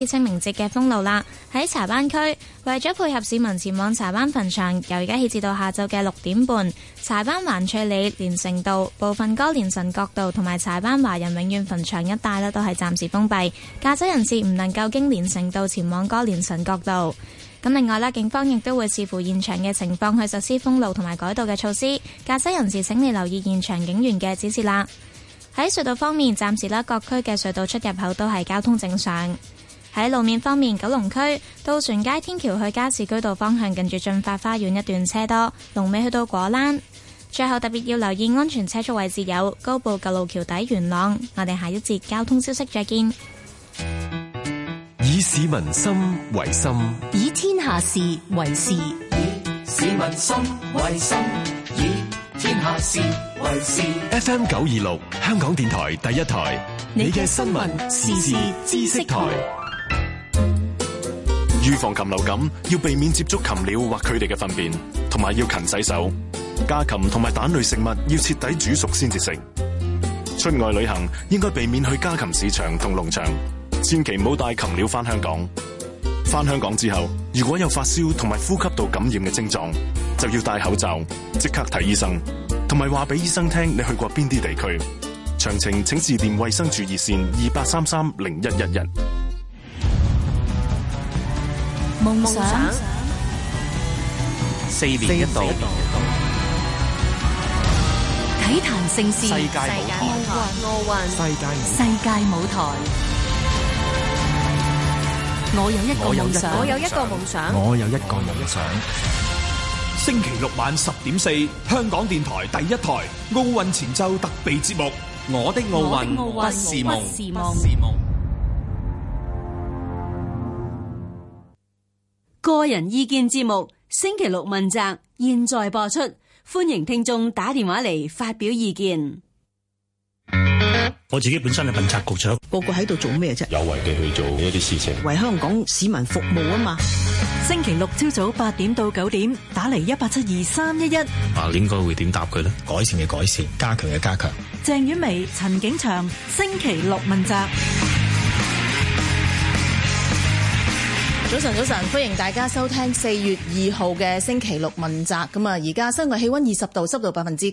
清明節嘅封路啦，喺柴灣區為咗配合市民前往柴灣墳場，由而家起至到下晝嘅6點半，柴灣環翠里連城道、部分歌連臣角道同埋柴灣華人永遠墳場一帶呢都係暫時封閉，駕駛人士唔能夠經連城道前往歌連臣角道。咁另外呢，警方亦都會視乎現場嘅情況去實施封路同埋改道嘅措施，駕駛人士請你留意現場警員嘅指示啦。喺隧道方面，暫時呢各區嘅隧道出入口都係交通正常。喺路面方面，九龍區渡船街天橋去加士居道方向近住駿發花園一段車多，龍尾去到果欄。最後特別要留意安全車速位置有高埗舊路橋底元朗。我哋下一節交通消息再見。 以市民心為心， 以天下事為事。以市民心為心，以天下事為事。 FM 926香港電台第一台，你嘅新聞時事知識台。預防禽流感，要避免接觸禽鳥或佢哋嘅糞便，同埋要勤洗手。家禽同埋蛋類食物要徹底煮熟先至食。出外旅行應該避免去家禽市場同農場，千祈唔好帶禽鳥返香港。返香港之後，如果有發燒同埋呼吸道感染嘅症狀，就要戴口罩，即刻睇醫生，同埋話俾醫生聽你去過邊啲地區。詳情請致電衛生署熱線28330111。 夢想 4年一度體壇盛事， 世界舞台， 奧運，世界舞台。我有一個夢想， 我有一個夢想， 我有一個夢想。 星期六晚10點4，香港電台第一台奧運前奏特備節目《我的奧運不是夢》。 個人意見節目星期六問責，現在播出，歡迎聽眾打電話嚟發表意見。 我自己本身係問責局長， 個個喺度做咩啫？ 有為地去做一啲事情， 為香港市民服務啊嘛。 星期六朝早8點到9點，打嚟1872311。 應該會點答佢呢？改善嘅改善，加強嘅加強。 鄭婉薇、陳景祥，星期六問責。 早晨，歡迎大家收聽4月2號嘅星期六問責。咁啊，而家室外氣溫20度，濕度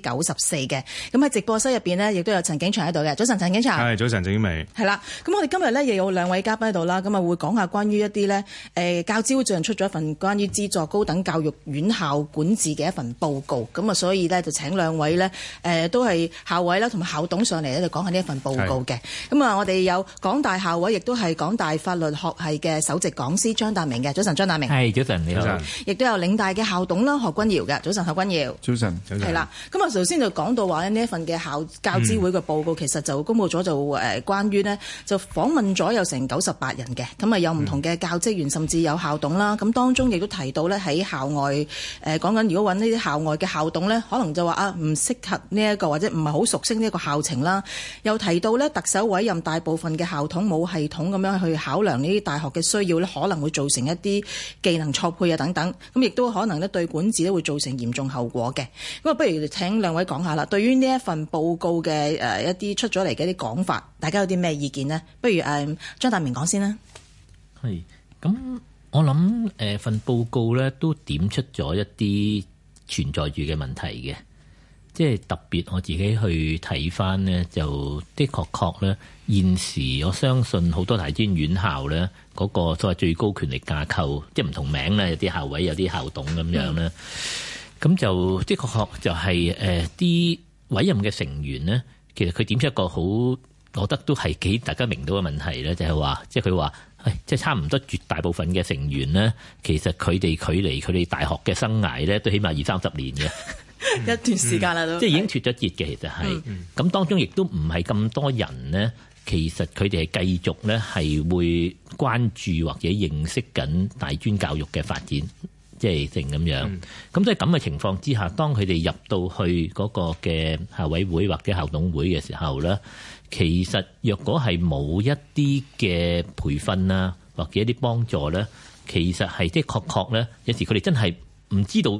94%嘅。咁喺直播室入邊呢，亦都有陳景祥喺度嘅。早晨，陳景祥。 係，早晨，鄭婉薇。 係啦，咁我哋今日呢，亦有兩位嘉賓喺度啦。咁啊，會講下關於一啲呢，教資會最近出咗一份關於資助高等教育院校管治嘅一份報告。咁啊，所以呢，就請兩位呢，都係校委啦同埋校董上嚟咧，就講下呢一份報告嘅。咁啊，我哋有港大校委，亦都係港大法律學系嘅首席講師張達明嘅。早晨，張達明。 係，早晨，你好。 亦都有嶺大嘅校董啦，何君堯嘅。早晨，何君堯。 早晨。 係啦，咁啊，頭先就講到話呢一份嘅教資會嘅報告，其實就公佈咗就關於呢，就訪問咗有成98人嘅，咁啊有唔同嘅教職員，甚至有校董啦。咁當中亦都提到呢，喺校外講緊，如果揾呢啲校外嘅校董呢，可能就話唔適合呢一個，或者唔係好熟悉呢一個校情啦。又提到呢，特首委任大部分嘅校董冇系統咁樣去考量呢啲大學嘅需要呢，可能會造成一啲技能錯配啊等等，咁亦都可能咧對管治咧會造成嚴重後果嘅。咁啊，不如請兩位講下啦。對於呢一份報告嘅一啲出咗嚟嘅一啲講法，大家有啲咩意見呢？不如張達明講先啦。 係，咁我諗份報告咧都點出咗一啲存在住嘅問題嘅。即係特別我自己去睇翻呢，就的確咧現時我相信好多大專院校咧嗰個所謂最高權力架構，即係唔同名咧，有啲校委有啲校董咁樣咧，咁就的確就係啲委任嘅成員咧，其實佢點出一個好，我覺得都係幾大家明到嘅問題咧，就係話，即係佢話，即係差唔多絕大部分嘅成員咧，其實佢哋距離佢哋大學嘅生涯咧，都起碼20-30年嘅。 一段時間啦，都即係已經脫咗節嘅，其實係咁當中亦都唔係咁多人呢。其實佢哋係繼續呢係會關注或者認識緊大專教育嘅發展，即係成咁樣。咁所以咁嘅情況之下，當佢哋入到去嗰個嘅校委會或者校董會嘅時候呢，其實若果係冇一啲嘅培訓啊，或者一啲幫助呢，其實係的確呢，有時佢哋真係唔知道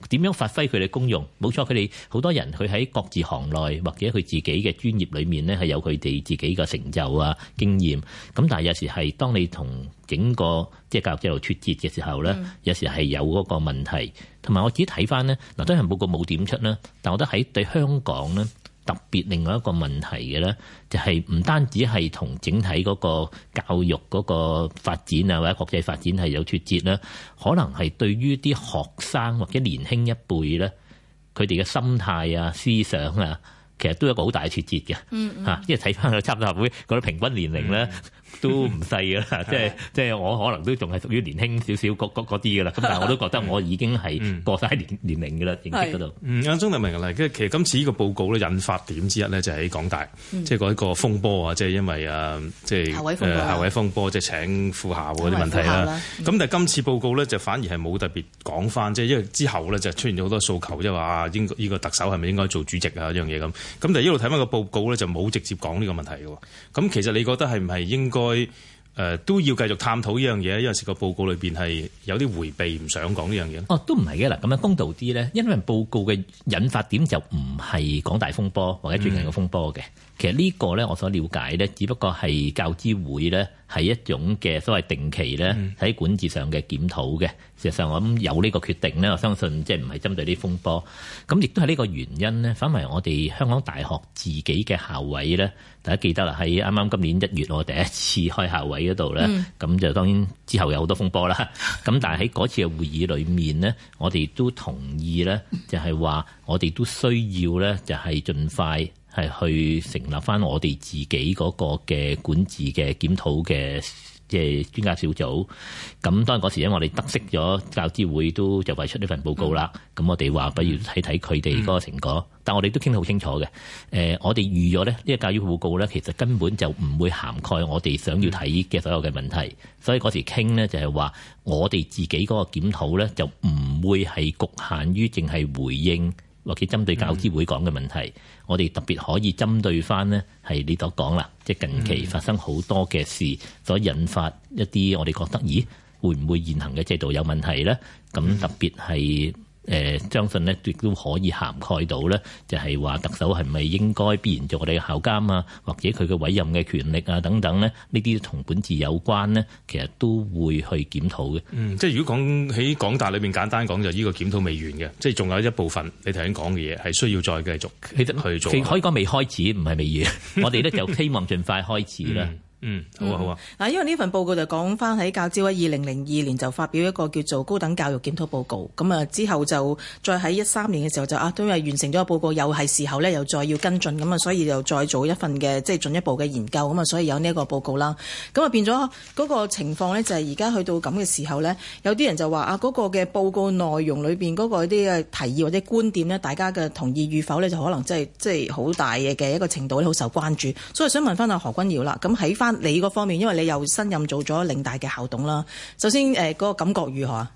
點樣發揮佢哋功用？冇錯，佢哋好多人佢喺各自行內或者佢自己嘅專業裏面呢，係有佢哋自己嘅成就啊、經驗。咁但係有時係當你同整個即係教育制度脫節嘅時候呢，有時係有嗰個問題。同埋我自己睇翻呢，嗱，當然報告冇點出啦，但我覺得喺對香港呢，特別另外一個問題嘅呢，就係唔單止係同整體嗰個教育嗰個發展啊，或者國際發展係有脫節啦，可能係對於啲學生或者年輕一輩呢，佢哋嘅心態啊、思想啊，其實都有一個好大嘅脫節嘅嚇。因為睇翻個差唔多會嗰啲平均年齡咧，都唔細㗎啦。即係我可能都仲係屬於年輕少少嗰啲㗎啦。咁但係我都覺得我已經係過晒年齡㗎啦，認識嗰度。阿鍾達明嚟，其實今次呢個報告咧引發點之一咧，就喺港大，即係嗰一個風波啊，即係因為即係校委風波，即係請副校嗰啲問題啦。咁但係今次報告咧就反而係冇特別講翻，即係因為之後咧就出現咗好多訴求，即係話呢個特首係咪應該做主席啊一樣嘢咁。咁但係一路睇翻個報告咧就冇直接講呢個問題嘅。咁其實你覺得係唔係應該都要繼續探討呢樣嘢？因為個報告裏邊係有啲迴避，唔想講呢樣嘢。 都唔係嘅嗱，咁樣公道啲咧，因為報告嘅引發點就唔係港大風波或者最近嘅風波嘅。其實呢個咧，我所了解咧，只不過係教資會咧係一種嘅所謂定期咧喺管治上嘅檢討嘅。事實上，我諗有呢個決定咧，我相信即係唔係針對啲風波。咁亦都係呢個原因咧，反為我哋香港大學自己嘅校委咧，大家記得啦，喺啱啱今年1月我第一次開校委嗰度咧，咁就當然之後有好多風波啦。咁但係喺嗰次嘅會議裏面咧，我哋都同意咧，就係話我哋都需要咧，就係盡快係去成立翻我哋自己嗰個嘅管治嘅檢討嘅即係專家小組。咁當然嗰時因為我哋得悉咗教資會都就為出呢份報告啦，咁我哋話不如睇睇佢哋嗰個成果。但我哋都傾得好清楚嘅。我哋預咗咧呢個教育報告咧，其實根本就唔會涵蓋我哋想要睇嘅所有嘅問題。所以嗰時傾呢，就係話我哋自己嗰個檢討咧就唔會係局限於淨係回應或者針對教資會講嘅問題。我哋特別可以針對翻呢係你所講啦，即係近期發生好多嘅事所引發一啲我哋覺得，咦會唔會現行嘅制度有問題呢？咁特別係相信呢亦都可以涵蓋到呢，就係話特首係咪應該必然做我哋嘅校監啊，或者佢嘅委任嘅權力啊等等呢？呢啲同本治有關呢，其實都會去檢討嘅。 即係如果講喺港大裏面簡單講，就呢個檢討未完嘅，即係仲有一部分你頭先講嘅嘢係需要再繼續去做。 其實可以講未開始，唔係未完。我哋咧就希望盡快開始啦。 好啊好啊。 嗱，因為呢份報告就講翻喺教資會2002年就發表一個叫做高等教育檢討報告，咁啊之後就再喺13年嘅時候就都係完成咗個報告，又係時候咧又再要跟進，咁啊所以又再做一份嘅即係進一步嘅研究，咁啊所以有呢一個報告啦。咁啊變咗嗰個情況咧就係而家去到咁嘅時候咧，有啲人就話嗰個嘅報告內容裏邊嗰個啲嘅提議或者觀點咧，大家嘅同意與否咧就可能即係好大嘅一個程度咧，好受關注。所以想問翻阿何君堯啦，咁喺翻你嗰方面，因為你又新任做咗嶺大嘅校董啦，首先嗰個感覺如何啊？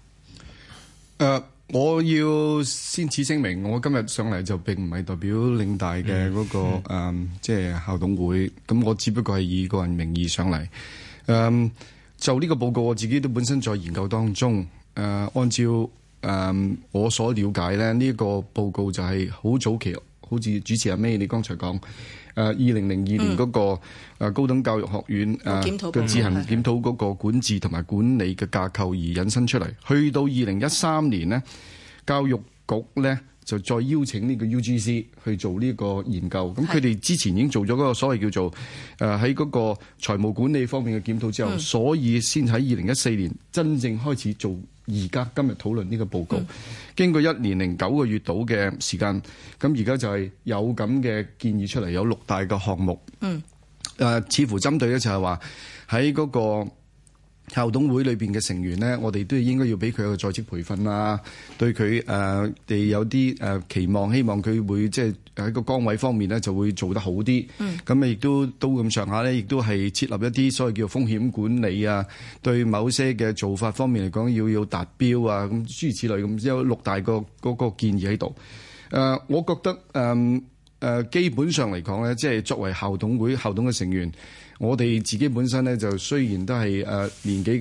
我要先此聲明，我今日上嚟就並唔係代表嶺大嘅嗰個即係校董會，咁我只不過係以個人名義上嚟。就呢個報告，我自己都本身在研究當中。按照我所了解咧，呢個報告就係好早期，好似主持阿 May 你剛才講。2002年嗰個高等教育學院嘅自行檢討嗰個管治同埋管理嘅架構而引申出嚟，去到2013年呢，教育局呢就再邀請呢個 UGC 去做呢個研究。咁佢哋之前已經做咗嗰個所謂叫做喺嗰個財務管理方面嘅檢討之後，所以先喺2014年真正開始做而家今日討論呢個報告。經過1年零9個月到嘅時間，咁而家就係有咁嘅建議出嚟，有6大嘅項目。似乎針對咧就係話喺嗰個校董會裏邊嘅成員呢，我哋都應該要俾佢有個在職培訓啦，對佢哋有啲期望，希望佢會即係喺個崗位方面呢就會做得好啲。咁亦都咁上下呢，亦都係設立一啲所謂叫風險管理啊，對某些嘅做法方面嚟講要達標啊，咁諸如此類咁，有6大個嗰個建議喺度。我覺得基本上嚟講呢，即係作為校董會校董嘅成員，我哋自己本身呢，就雖然都係年紀梗係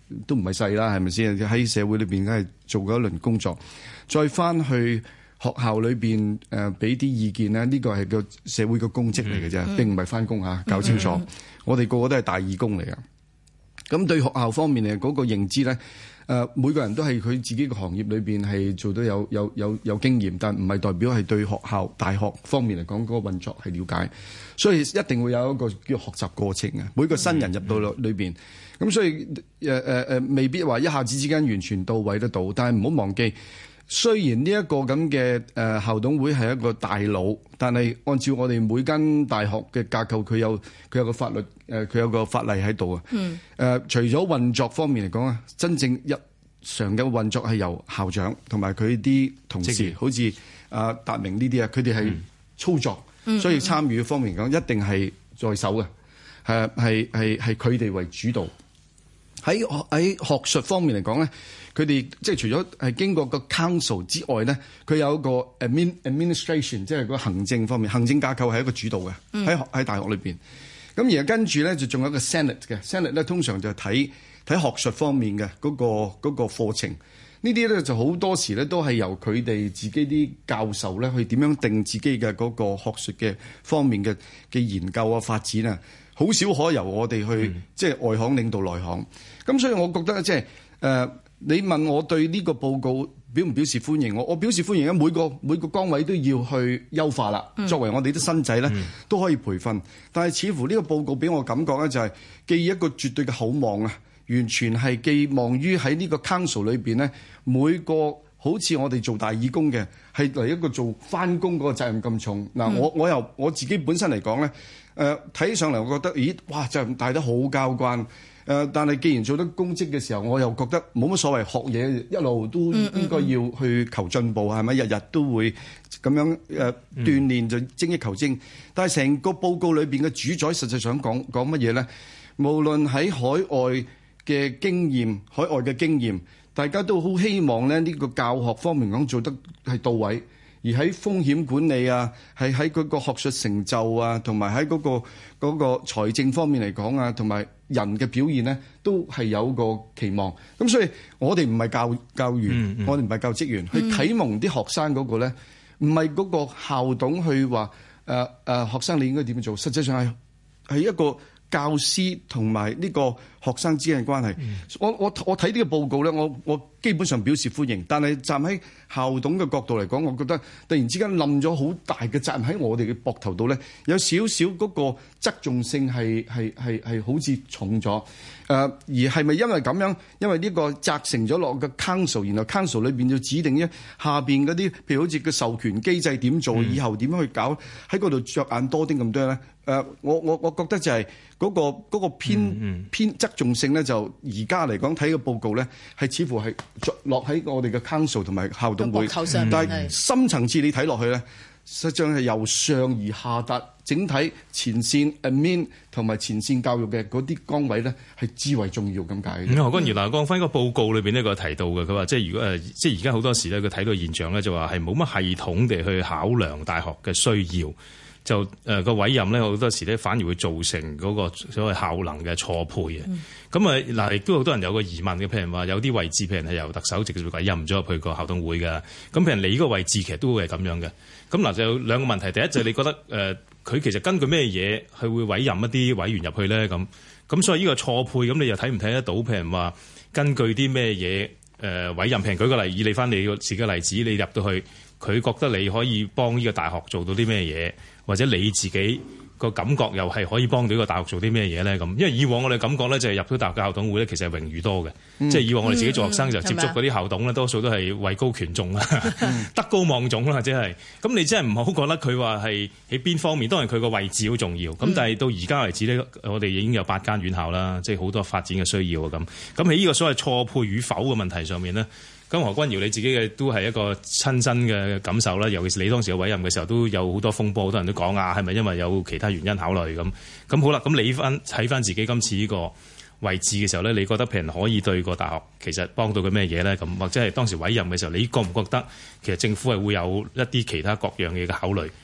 都唔係細啦，係咪先？喺社會裏邊梗係做過一輪工作，再翻去學校裏邊俾啲意見咧，呢個係個社會嘅公職嚟嘅啫，並唔係翻工嚇，搞清楚。我哋個個都係大義工嚟㗎。咁對學校方面嘅嗰個認知咧，每個人都係佢自己嘅行業裏邊係做到有經驗，但唔係代表係對學校大學方面嚟講嗰個運作係了解，所以一定會有一個叫學習過程嘅。每個新人入到裏邊，咁所以未必話一下子之間完全到位得到，但係唔好忘記。雖然呢一個咁嘅校董會係一個大佬，但係按照我哋每間大學嘅架構，佢有個法律佢有個法例喺度啊。除咗運作方面嚟講啊，真正日常嘅運作係由校長同埋佢啲同事，好似達明呢啲啊，佢哋係操作，所以參與方面嚟講，一定係在手嘅，係佢哋為主導。喺學術方面嚟講咧，佢哋即係除咗係經過個 council 之外咧，佢有一個 administration， 即係個行政方面，行政架構係一個主導嘅，喺大學裏邊。咁而跟住咧就仲有一個 senate 嘅 senate 咧，通常就係睇學術方面嘅嗰個課程。呢啲咧就好多時咧都係由佢哋自己啲教授咧去點樣定自己嘅嗰個學術嘅方面嘅研究啊發展啊。好少可由我哋去即係外行領導內行，咁所以我覺得即係你問我對呢個報告表唔表示歡迎，我表示歡迎啊！每個崗位都要去優化啦。作為我哋啲新仔咧，都可以培訓，但係似乎呢個報告俾我感覺咧就係寄予一個絕對嘅厚望啊，完全係寄望於喺呢個 council 裏邊咧，每個好似我哋做大義工嘅係嚟一個做翻工嗰個責任咁重嗱。我自己本身嚟講咧。睇起上嚟，我覺得，咦，哇，就帶得好交關。但係既然做得公職嘅時候，我又覺得冇乜所謂，學嘢一路都應該要去求進步，係咪？日日都會咁樣鍛鍊，就精益求精。但係成個報告裏邊嘅主宰，實際上講乜嘢咧？無論喺海外嘅經驗，大家都好希望咧呢個教學方面講做得係到位。而喺風險管理啊，係喺嗰個學術成就啊，同埋喺嗰個財政方面嚟講啊，同埋人嘅表現咧，都係有個期望。咁所以我哋唔係教員，我哋唔係教職員，去啟蒙啲學生嗰個咧，唔係嗰個校董去話學生你應該點樣做，實際上係一個教師同埋呢個學生之間嘅關係。我睇呢個報告咧，我基本上表示歡迎，但係站喺校董嘅角度嚟講，我覺得突然之間冧咗好大嘅責任喺我哋嘅膊頭度咧，有少少嗰個側重性係好似重咗。而係咪因為咁樣？因為呢個責成咗落個 council， 然後 council 裏邊要指定下邊嗰啲，譬如好似個授權機制點做，以後點樣去搞，喺嗰度着眼多啲咁多咧？我覺得就係嗰個偏側重性咧，就而家嚟講睇個報告咧，係似乎係落喺我哋嘅 council 同埋校董會，但係深層次你睇落去咧，實際上係由上而下達整體前線 admin 同埋前線教育嘅嗰啲崗位咧，係至為重要咁解。 何君堯講翻個報告裏邊呢個提到嘅，佢話即係如果即係而家好多時咧，佢睇到現象咧，就話係冇乜系統地去考量大學嘅需要。就個委任咧，好多時咧反而會造成嗰個所謂效能嘅錯配嘅。咁啊嗱，亦都好多人有個疑問嘅，譬如話有啲位置，譬如係由特首直接委任咗入去個校董會嘅。咁譬如你呢個位置其實都會係咁樣嘅。咁嗱就有兩個問題，第一就係你覺得佢其實根據咩嘢係會委任一啲委員入去咧？咁所以呢個錯配，咁你又睇唔睇得到？譬如話根據啲咩嘢委任？譬如舉個例，以你翻你自己嘅例子，你入到去，佢覺得你可以幫呢個大學做到啲咩嘢？或者你自己個感覺又係可以幫到呢個大學做啲咩嘢咧？咁因為以往我哋感覺咧就係入到大學嘅校董會咧，其實係榮譽多嘅。即係以往我哋自己做學生就接觸嗰啲校董咧，多數都係位高權重啦，德高望重啦，即係。咁你真係唔好覺得佢話係喺邊方面，當然佢個位置好重要。咁但係到而家為止咧，我哋已經有8間院校啦，即係好多發展嘅需要啊咁。咁喺呢個所謂錯配與否嘅問題上面咧。咁何君堯你自己嘅都係一個親身嘅感受啦，尤其是你當時嘅委任嘅時候都有好多風波，好多人都講係咪因為有其他原因考慮咁？咁好啦，咁你睇翻自己今次呢個位置嘅時候咧，你覺得譬如可以對個大學其實幫到佢咩嘢咧？咁或者係當時委任嘅時候，你覺唔覺得其實政府係會有一啲其他各樣嘢嘅考慮？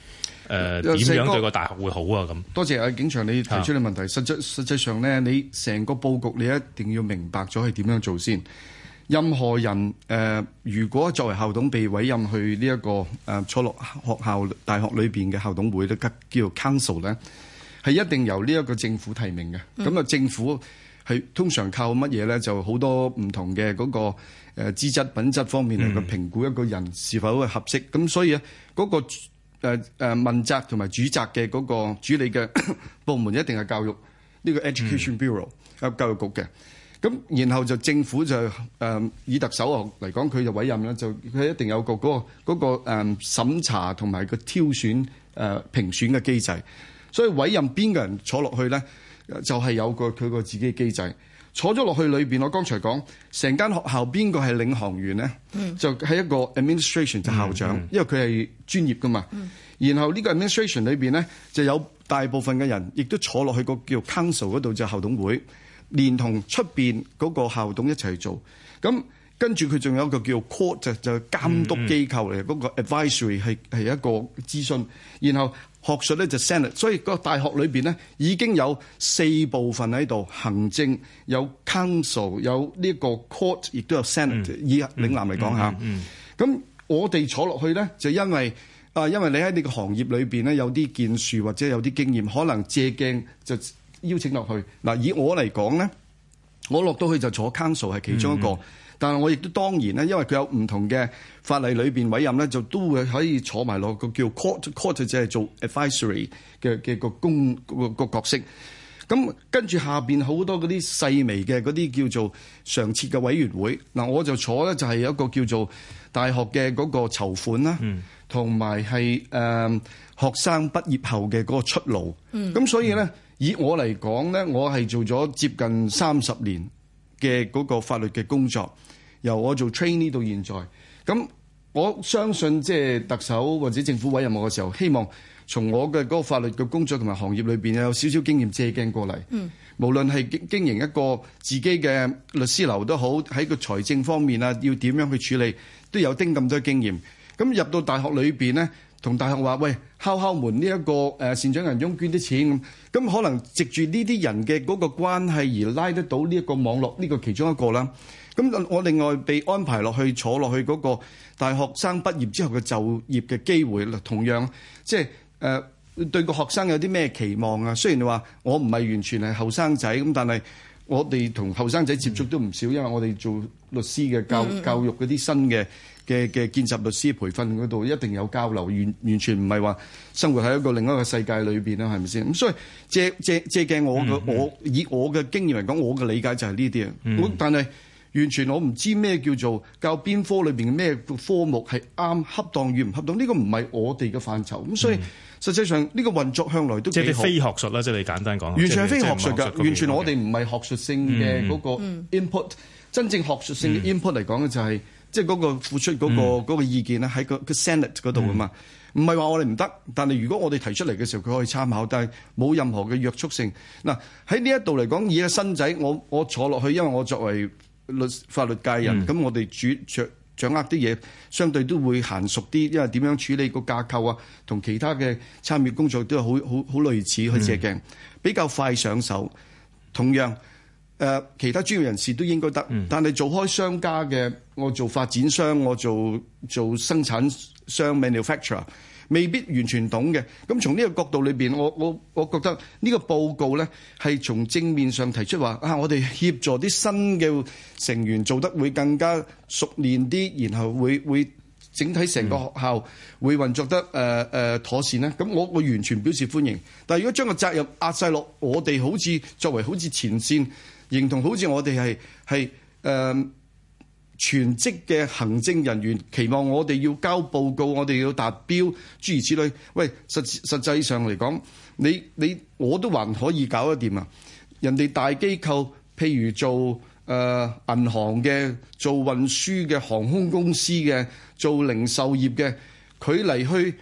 點樣對個大學會好啊？咁多謝景祥你提出嘅問題。實際上咧，你成個佈局你一定要明白咗係點樣做先。任何人如果作為校董被委任去呢一個坐落學校大學裏邊嘅校董會咧，叫做 council 咧，係一定由呢一個政府提名嘅。咁政府係通常靠乜嘢咧？就好多唔同嘅嗰個資質品質方面嚟去評估一個人是否係合適。咁所以咧，嗰個問責同埋主責嘅嗰個主理嘅部門一定係教育呢個 Education Bureau 教育局嘅。咁然後就政府就以特首嚟講，佢就委任啦，就佢一定有個嗰個審查同埋個挑選評選嘅機制。所以委任邊個人坐落去咧，就係有佢個自己嘅機制。坐咗落去裏邊，我剛才講成間學校邊個係領航員咧，就係一個 administration 就校長，因為佢係專業噶嘛。然後呢個 administration 裏邊咧，就有大部分嘅人亦都坐落去個叫 council 嗰度，就校董會。連同出邊嗰個校董一齊做，咁跟住佢仲有一個叫 court 就監督機構嚟，嗰個 advisory 係一個諮詢，然後學術咧就 senate， 所以個大學裏邊咧已經有4部分喺度，行政有 council 有呢個 court， 亦都有 senate，以嶺南嚟講下。咁我哋坐落去咧就因為你喺呢個行業裏邊咧有啲建樹或者有啲經驗，可能借鏡就邀請落去嗱，以我嚟講咧，我落到去就坐 council 係其中一個，但係我亦都當然咧，因為佢有唔同嘅法例裏邊委任咧，就都會可以坐埋落個叫 court 就係做 advisory 嘅個角色。咁跟住下邊好多嗰啲細微嘅嗰啲叫做常設嘅委員會嗱，我就坐咧就係有一個叫做大學嘅嗰個籌款啦，同埋係學生畢業後嘅嗰個出路。咁所以咧。以我嚟講咧，我係做咗接近30年嘅嗰個法律嘅工作，由我做 trainee 到現在。咁我相信即係特首或者政府委任我嘅時候，希望從我嘅嗰個法律嘅工作同埋行業裏邊有少少經驗借鏡過嚟。無論係經營一個自己嘅律師樓都好，喺個財政方面啊，要點樣去處理，都有丁咁多經驗。咁入到大學裏邊咧，同大學話喂，敲門呢一個善長仁翁捐啲錢咁，可能藉住呢啲人嘅嗰個關係而拉得到呢一個網絡，呢個其中一個啦。咁我另外被安排落去坐落去嗰個大學生畢業之後嘅就業嘅機會，同樣即係對個學生有啲咩期望啊？雖然你話我唔係完全係後生仔咁，但係我哋同後生仔接觸都唔少，因為我哋做律師嘅教育嗰啲新嘅見習律師培訓嗰度一定有交流，完全唔係話生活喺一個另一個世界裏邊啦，係咪先？咁所以借鏡我以我嘅經驗嚟講，我嘅理解就係呢啲啊。但係完全我唔知咩叫做教邊科裏邊嘅咩科目係啱恰當與唔恰當，呢個唔係我哋嘅範疇。咁所以實際上呢個運作向來都幾好。即係非學術啦，即係你簡單講。完全係非學術㗎，完全我哋唔係學術性嘅嗰個 input。真正學術性嘅 input 嚟講咧，就係即係嗰個付出嗰個意見咧，喺個 Senate 嗰度啊嘛。唔係話我哋唔得，但係如果我哋提出嚟嘅時候，佢可以參考，但係冇任何嘅約束性。嗱，喺呢一度嚟講，以個新仔，我坐落去，因為我作為法律界人，咁我哋掌握啲嘢，相對都會嫻熟啲，因為點樣處理個架構啊，同其他嘅參與工作都係好類似去借鏡，比較快上手。同樣其他專業人士都應該得，但係做開商家嘅，我做發展商，我做生產商 manufacturer， 未必完全懂嘅。咁從呢個角度裏邊，我覺得呢個報告咧係從正面上提出話我哋協助啲新嘅成員做得會更加熟練啲，然後會整體成個學校會運作得妥善咧。咁我完全表示歡迎。但係如果將個責任壓晒落我哋，好似作為好似前線，認同好似我哋係全職嘅行政人員，期望我哋要交報告，我哋要達標，諸如此類。喂，實際上嚟講，你我都還可以搞得掂啊！人哋大機構，譬如做銀行嘅、做運輸嘅、航空公司嘅、做零售業嘅，佢嚟去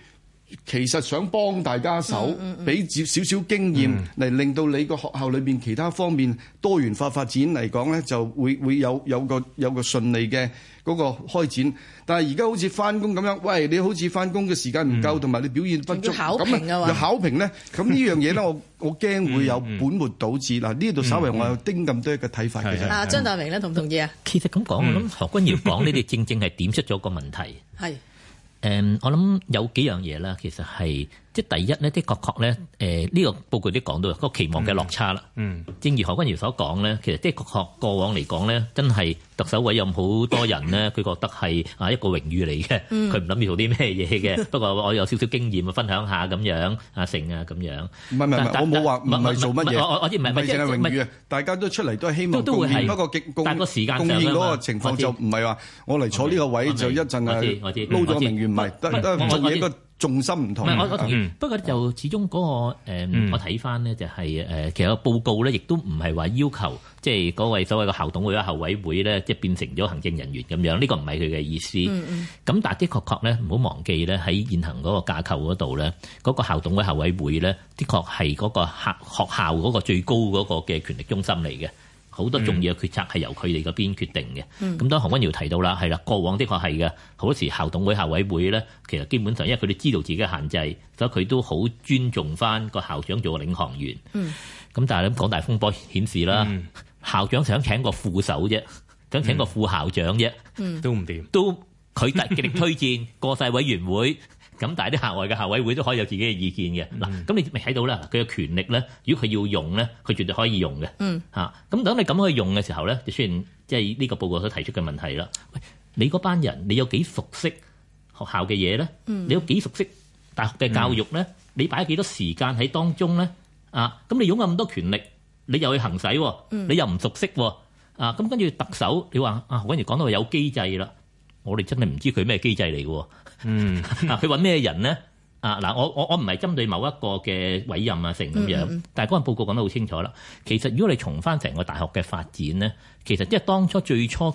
其實想幫大家手，俾少少經驗嚟令到你個學校裏邊其他方面多元化發展嚟講咧，就會有個順利嘅嗰個開展。但係而家好似翻工咁樣，喂，你好似翻工嘅時間唔夠，同埋你表現不足，咁啊又考評咧，咁呢樣嘢咧，我驚會有本末倒置。嗱，呢度稍微我有丁咁多一個睇法嘅啫。張達明咧，同唔同意啊？ 其實咁講，我諗何君堯講呢啲正正係點出咗個問題。 係。 我諗有幾樣嘢啦，其實係即係第一咧，的確咧，呢個報告都講到個期望嘅落差啦。正如何君堯所講咧，其實的確過往嚟講咧，真係特首委任好多人咧，佢覺得係一個榮譽嚟嘅，佢唔諗住做啲咩嘢嘅。不過我有少少經驗分享下咁樣，成啊咁樣。 唔係，我冇話唔係做乜嘢。 我知唔係淨係榮譽啊！大家都出嚟都係希望貢獻，不過但係個時間貢獻嗰個情況就唔係話我嚟坐呢個位就一陣撈咗名譽，唔係得做嘢個重心唔同。 我同意，不過就始終嗰個我睇翻呢就係其實個報告咧，亦都唔係話要求即係嗰位所謂嘅校董會或者校委會咧，即係變成咗行政人員咁樣。呢個唔係佢嘅意思。咁但係的確咧，唔好忘記咧，喺現行嗰個架構嗰度咧，嗰個校董會校委會咧，的確係嗰個學校嗰個最高嗰個嘅權力中心嚟嘅。好多重要嘅決策係由佢哋嗰邊決定嘅。咁當何君堯提到啦，係啦，過往的確係嘅。好多時校董會校委會咧，其實基本上因為佢哋知道自己嘅限制，所以佢都好尊重翻個校長做個領航員。咁但係港大風波顯示啦，校長想請個副手啫，想請個副校長啫， 都唔掂， 都佢極力推薦過晒委員會。咁但係啲校外嘅校委會都可以有自己嘅意見嘅。嗱，咁你咪睇到啦，佢嘅權力咧，如果佢要用咧，佢絕對可以用嘅。咁等你咁去用嘅時候咧，就出現即係呢個報告所提出嘅問題啦。喂，你嗰班人，你有幾熟悉學校嘅嘢咧？你有幾熟悉大學嘅教育咧？你擺幾多時間喺當中咧？咁你擁有咁多權力，你又去行使，你又唔熟悉喎。咁跟住特首，你話何君堯講到有機制啦，我哋真係唔知佢咩機制嚟嘅。佢揾咩人咧？我唔係針對某一個嘅委任成咁樣，但係嗰份報告講得好清楚啦。其實如果你重翻成個大學嘅發展咧，其實即係當初最初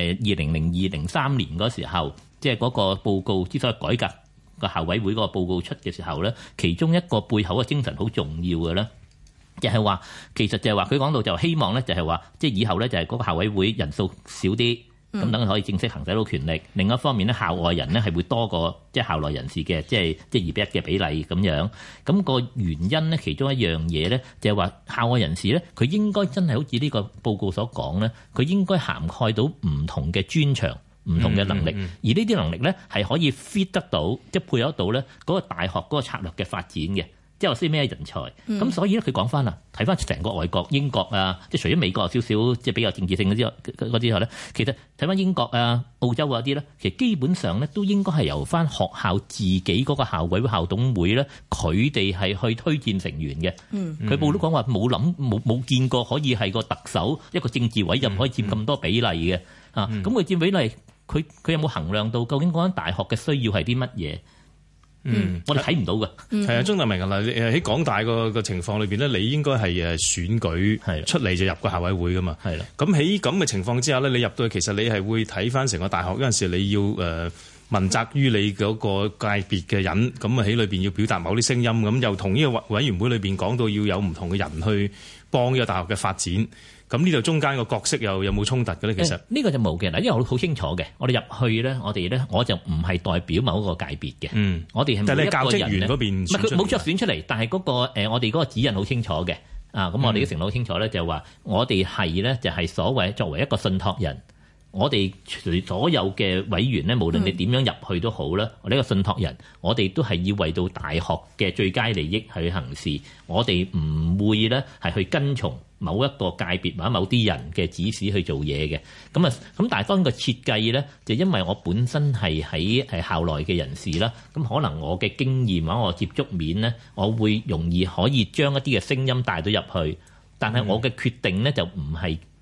2002-03年嗰時候，即係嗰個報告之所以改革個校委會嗰個報告出嘅時候咧，其中一個背後嘅精神好重要嘅咧，就係話其實就係話佢講到就希望咧，就係話即係以後咧就係嗰個校委會人數少啲。咁等佢可以正式行使到權力。另一方面咧，校外人咧係會多過即係校內人士嘅，即係2:1嘅比例咁樣。咁個原因咧，其中一樣嘢咧，就係話校外人士咧，佢應該真係好似呢個報告所講咧，佢應該涵蓋到唔同嘅專長、唔同嘅能力，而呢啲能力咧係可以 fit 得到，即係配合到咧嗰個大學嗰個策略嘅發展嘅。即係話啲咩人才，咁所以咧佢講翻啦，睇翻成個外國英國啊，即係除咗美國有少少即係比較政治性嗰啲咧，其實睇翻英國啊、澳洲嗰啲咧，其實基本上咧都應該係由翻學校自己嗰個校委會、校董會咧，佢哋係去推薦成員嘅。佢報都講話冇見過可以係個特首一個政治委任可以佔咁多比例嘅。咁佢佔比例，佢有冇衡量到究竟嗰間大學嘅需要係啲乜嘢？我哋睇唔到嘅。 係啊，張達明啊，嗱，喺港大個情況裏邊咧，你應該係選舉出嚟就入個校委會噶嘛。係啦。咁喺咁嘅情況之下咧，你入到去其實你係會睇翻成個大學嗰陣時，你要問責於你嗰個界別嘅人，咁啊喺裏邊要表達某啲聲音，咁又同呢個委員會裏邊講到要有唔同嘅人去幫呢個大學嘅發展。咁呢度中間個角色又有冇衝突嘅咧？其實呢個就冇嘅嗱，因為我好清楚嘅，我哋入去咧，我哋咧我就唔係代表某一個界別嘅。我哋係每一個人咧，但係教職員嗰邊冇出選出嚟，但係嗰個我哋嗰個指引好清楚嘅。咁我哋嘅承諾好清楚咧，就係話我哋係咧就係所謂作為一個信託人。我哋所有嘅委員咧，無論你點樣入去都好啦，我哋一個信託人，我哋都係要為到大學嘅最佳利益去行事。我哋唔會咧係去跟從某一個界別或者某啲人嘅指使去做嘢嘅。咁但係當個設計咧，就因為我本身係喺校內嘅人士啦，咁可能我嘅經驗或者我接觸面咧，我會容易可以將一啲嘅聲音帶到入去。但係我嘅決定咧就唔係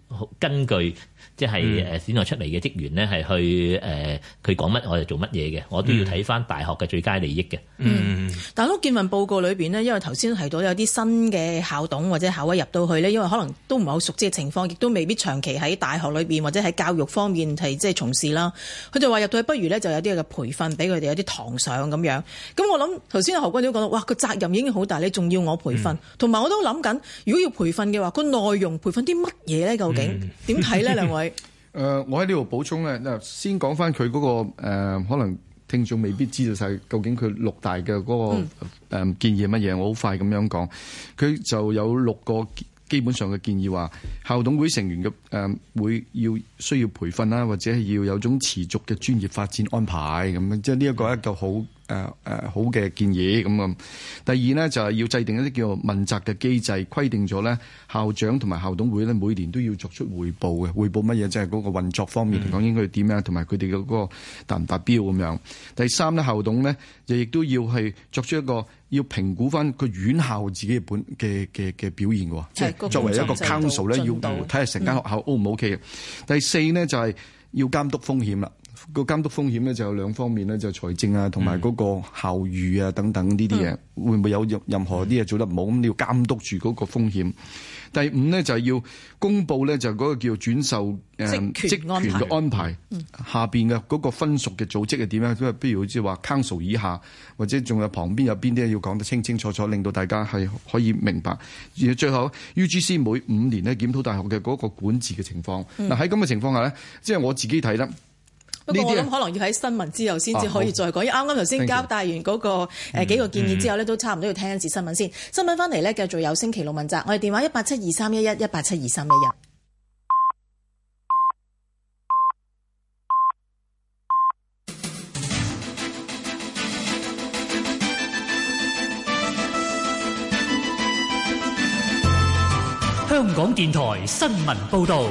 根據即係選落出嚟嘅職員咧，係去佢講乜我就做乜嘢嘅，我都要睇翻大學嘅最佳利益嘅。 但係都見份報告裏邊呢，因為頭先提到有啲新嘅校董或者校委入到去呢，因為可能都唔係好熟知嘅情況，亦都未必長期喺大學裏邊或者喺教育方面係即係從事啦。佢就話入到去不如呢，就有啲嘅培訓俾佢哋有啲堂上咁樣。咁我諗頭先何君都講到，哇個責任已經好大，你仲要我培訓，同埋我都諗緊，如果要培訓嘅話，個內容培訓啲乜嘢呢？究竟點睇呢？兩位？ 我喺呢度補充咧，先講翻佢嗰個可能聽眾未必知道晒究竟佢6大嘅嗰個建議係乜嘢。我好快咁樣講，佢就有6個基本上嘅建議，話校董會成員嘅會需要培訓啦，或者係要有種持續嘅專業發展安排咁樣，即係呢一個好好嘅建議咁啊。第二呢，就係要制定一啲叫做問責嘅機制，規定咗咧校長同埋校董會咧每年都要作出匯報嘅，匯報乜嘢，即係嗰個運作方面嚟講應該點樣，同埋佢哋嘅嗰個達唔達標咁樣。第三呢，校董呢，亦都要係作出一個要評估翻個院校自己嘅表現喎，即係作為一個 council 咧，要睇下成間學校 O 唔 OK 嘅。第四呢，就係要監督風險啦。個監督風險咧就有2方面咧，就財政啊同埋嗰個校譽啊等等呢啲嘢，會唔會有任何啲嘢做得唔好，咁你要監督住嗰個風險。第5呢，就係要公佈咧，就嗰個叫轉授職權嘅安排，下邊嘅嗰個分屬嘅組織係點樣？譬如好似話 council 以下，或者仲有旁邊有邊啲要講得清清楚楚，令到大家係可以明白。而最後 UGC 每5年咧檢討大學嘅嗰個管治嘅情況。嗱喺咁嘅情況下咧，即係我自己睇啦。 不過我諗可能要喺新聞之後先至可以再講，因為啱啱頭先交代完嗰個幾個建議之後呢，都差唔多要聽一次新聞先。新聞翻嚟呢，繼續有星期六問責，我哋電話1872311 1872311。 香港電台新聞報導。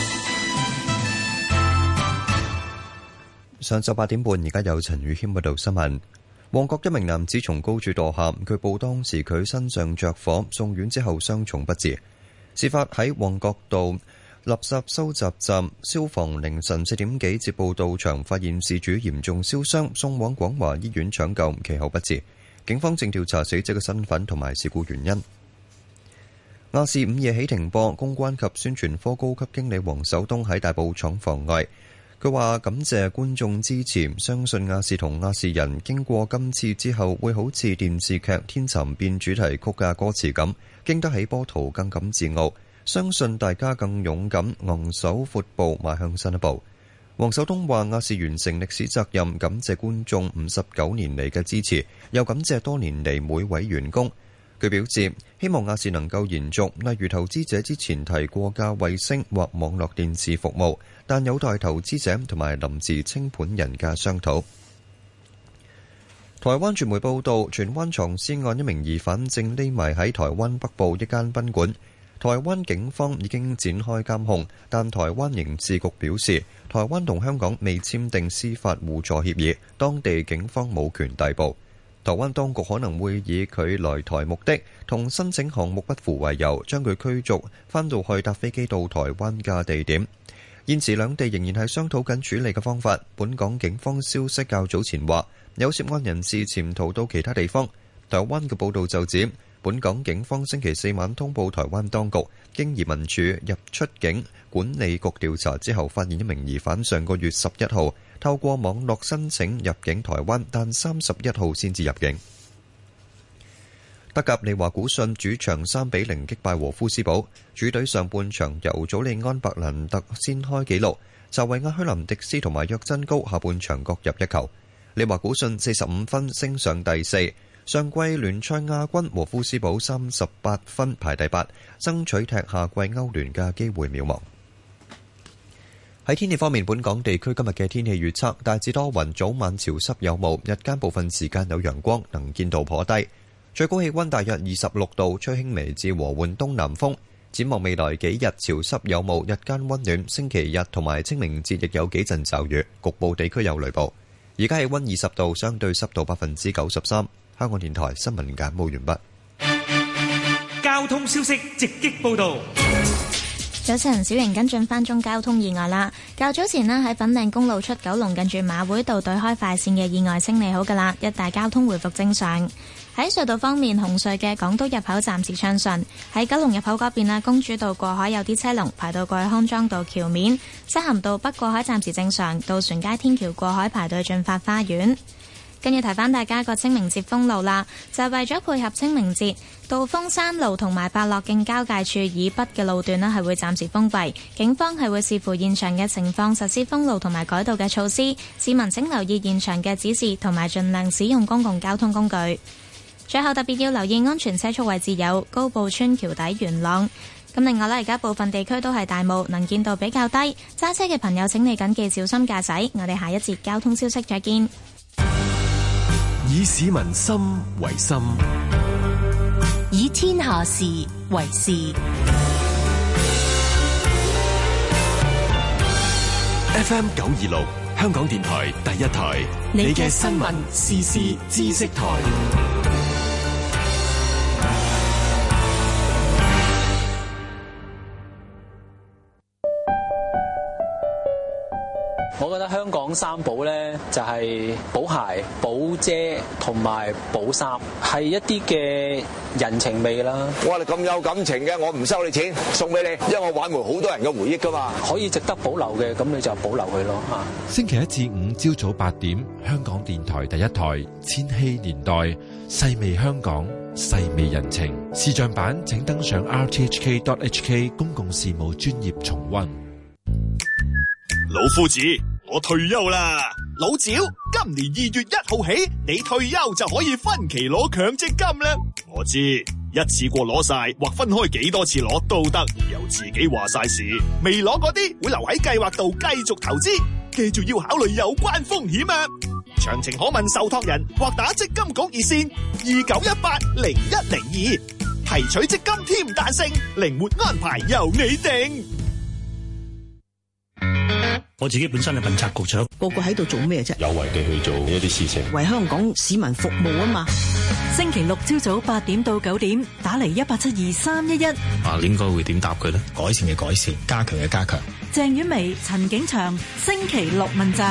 上晝8點半，而家有陳宇謙報道新聞。旺角一名男子從高處墮下，據報當時佢身上着火，送院之後傷重不治。事發喺旺角道垃圾收集站，消防凌晨4點幾接報到場，發現事主嚴重燒傷，送往廣華醫院搶救，其後不治。警方正調查死者嘅身份同埋事故原因。亞視午夜起停播，公關及宣傳科高級經理黃守東喺大埔廠房外。佢話感謝觀眾支持，相信亞視同亞視人經過今次之後，會好似電視劇《天蠶變》主題曲嘅歌詞咁，經得起波濤，更感自傲。相信大家更勇敢，昂首闊步，邁向新一步。黃守東話亞視完成歷史責任，感謝觀眾59年嚟嘅支持，又感謝多年嚟每位員工。佢表示希望亞視能夠延續，例如投資者之前提過嘅衛星或網絡電視服務，但有待投資者同埋臨時清盤人嘅商討。台灣傳媒報道，荃灣藏屍案一名疑犯正匿埋喺台灣北部一間賓館，台灣警方已經展開監控，但台灣刑事局表示，台灣同香港未簽訂司法互助協議，當地警方冇權逮捕。台灣當局可能會以佢來台目的同申請項目不符為由，將佢驅逐返到去搭飛機到台灣嘅地點。現時兩地仍然係商討緊處理嘅方法。本港警方消息較早前話，有涉案人士潛逃到其他地方。台灣嘅報導就指，本港警方星期4晚通報台灣當局，經移民署入出境管理局調查之後，發現一名疑犯上個月11號透過網絡申請入境台灣，但31號先至入境。德甲利華古遜主場3-0擊敗和夫斯堡，主隊上半場由祖利安白蘭特先開紀錄，就為阿虛林迪斯同埋約真高下半場各入一球。利華古遜45分升上第4，上季聯賽亞軍和夫斯堡38分排第8，爭取踢下季歐聯嘅機會渺茫。喺天氣方面，本港地區今日嘅天氣預測大致多雲，早晚潮濕有霧，日間部分時間有陽光，能見度頗低，最高氣溫大約26度，吹輕微至和緩東南風。展望未來幾日潮濕有霧，日間溫暖，星期日同埋清明節亦有幾陣驟雨，局部地區有雷暴。而家氣溫20度，相對濕度93%。香港電台新聞簡報完畢。 交通消息直擊報道。 早晨，小瑩跟進翻宗交通意外啦。較早前呢，喺粉嶺公路出九龍近住馬會道對開快線嘅意外清理好噶啦，一帶交通回復正常。喺隧道方面，紅隧嘅港島入口暫時暢順。喺九龍入口嗰邊啦，公主道過海有啲車龍排到過去康莊道橋面，西行道北過海暫時正常，渡船街天橋過海排到駿發花園。跟住提翻大家個清明節封路啦，就係為咗配合清明節，道風山路同埋伯樂徑交界處以北嘅路段呢係會暫時封閉，警方係會視乎現場嘅情況實施封路同埋改道嘅措施，市民請留意現場嘅指示同埋盡量使用公共交通工具。最後特別要留意安全車速位置有高埔村橋底元朗。咁另外呢，而家部分地區都係大霧，能見度比較低，揸車嘅朋友請你謹記小心駕駛。我哋下一節交通消息再見。 以市民心為心， 以天下事為事。 FM 926，香港電台第一台，你嘅新聞時事知識台。 我覺得香港三寶咧就係補鞋、補遮同埋補衫，係一啲嘅人情味啦。 我哋咁有感情嘅，我唔收你錢，送俾你，因為我挽回好多人嘅回憶噶嘛。 可以值得保留嘅，咁你就保留佢咯嚇。 星期一至五朝早8點，香港電台第一台《千禧年代》，細味香港，細味人情。視像版請登上 rthk.hk 公共事務專頁重溫。 老夫子，我退休啦！老趙，今年2月1號起，你退休就可以分期攞強積金啦。我知，一次過攞晒或分開幾多次攞都得，由自己話晒事。未攞嗰啲會留喺計劃度繼續投資，記住要考慮有關風險啊！詳情可問受託人或打積金局熱線29180102，提取積金添彈性，靈活安排由你定。 我自己本身係問責局長， 個個喺度做咩啫？ 有為地去做一啲事情， 為香港市民服務啊嘛！ 星期六朝早8點到9點，打嚟1872311。 應該會點答佢呢？改善嘅改善，加強嘅加強。 鄭婉薇、陳景祥，星期六問責。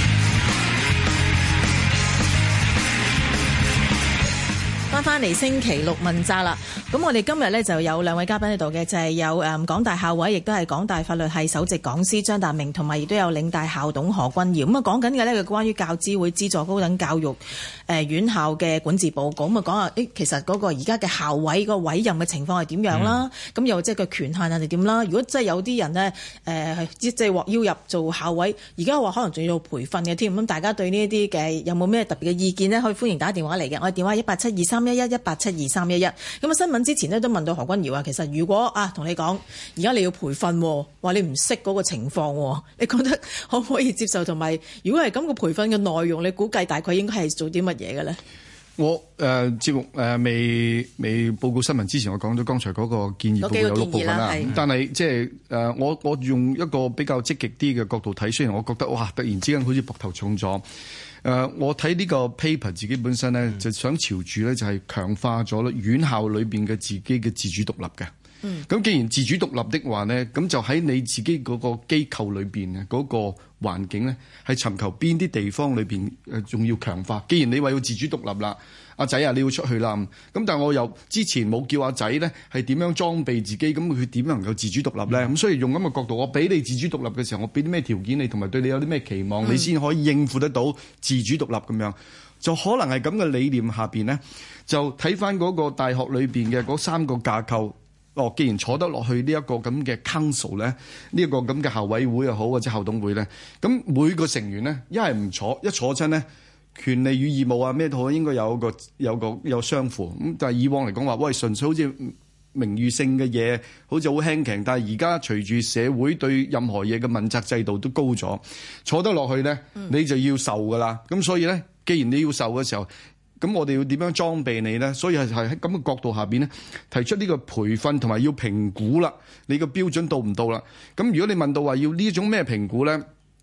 翻嚟星期六問責啦，咁我哋今日呢就有兩位嘉賓喺度嘅，就係有港大校委，亦都係港大法律系首席講師張達明，同埋亦都有領大校董何君堯。咁啊講緊嘅呢，就關於教資會資助高等教育院校嘅管治報告。咁啊講下其實嗰個而家嘅校委個委任嘅情況係點樣啦？咁又即係個權限係點啦？如果真係有啲人呢，即係獲邀入做校委，而家話可能仲要培訓嘅添。咁大家對呢一啲嘅有冇咩特別嘅意見呢？可以歡迎打電話嚟嘅，我哋電話1872311。1872311。咁啊，新聞之前呢都問到何君堯啊，其實如果同你講，而家你要培訓，話你唔識嗰個情況，你覺得可唔可以接受？同埋，如果係咁個培訓嘅內容，你估計大概應該係做啲乜嘢嘅咧？ 我節目未報告新聞之前，我講咗剛才嗰個建議報告有6部分啦。但係即係我用一個比較積極啲嘅角度睇，雖然我覺得哇，突然之間好似膊頭重咗。我睇呢個 paper 自己本身咧，就想朝住咧就係強化咗院校裏邊嘅自己嘅自主獨立嘅。咁既然自主獨立的話呢，咁就喺你自己嗰個機構裏邊嘅嗰個環境呢，係尋求邊啲地方裏邊仲要強化。既然你話要自主獨立啦，阿仔啊你要出去啦，咁但係我又之前冇叫阿仔呢係點樣裝備自己，咁佢點能夠自主獨立呢？咁所以用咁嘅角度，我俾你自主獨立嘅時候，我俾啲咩條件你，同埋對你有啲咩期望，你先可以應付得到自主獨立咁樣。就可能係咁嘅理念下邊呢，就睇翻嗰個大學裏邊嘅嗰3個架構。既然坐得落去呢一個咁嘅 council 咧，呢一個咁嘅校委會又好或者校董會咧，咁每個成員咧一係唔坐，一坐親咧權利與義務啊咩都好，應該有相符。咁但係以往嚟講話，喂純粹好似名譽性嘅嘢，好似好輕鬆。但係而家隨住社會對任何嘢嘅問責制度都高咗，坐得落去咧你就要受㗎啦。咁所以咧，既然你要受嘅時候，咁我哋要點樣裝備你呢？所以係喺咁嘅角度下邊呢，提出呢個培訓同埋要評估啦。你個標準到唔到啦？咁如果你問到話要呢種咩評估呢？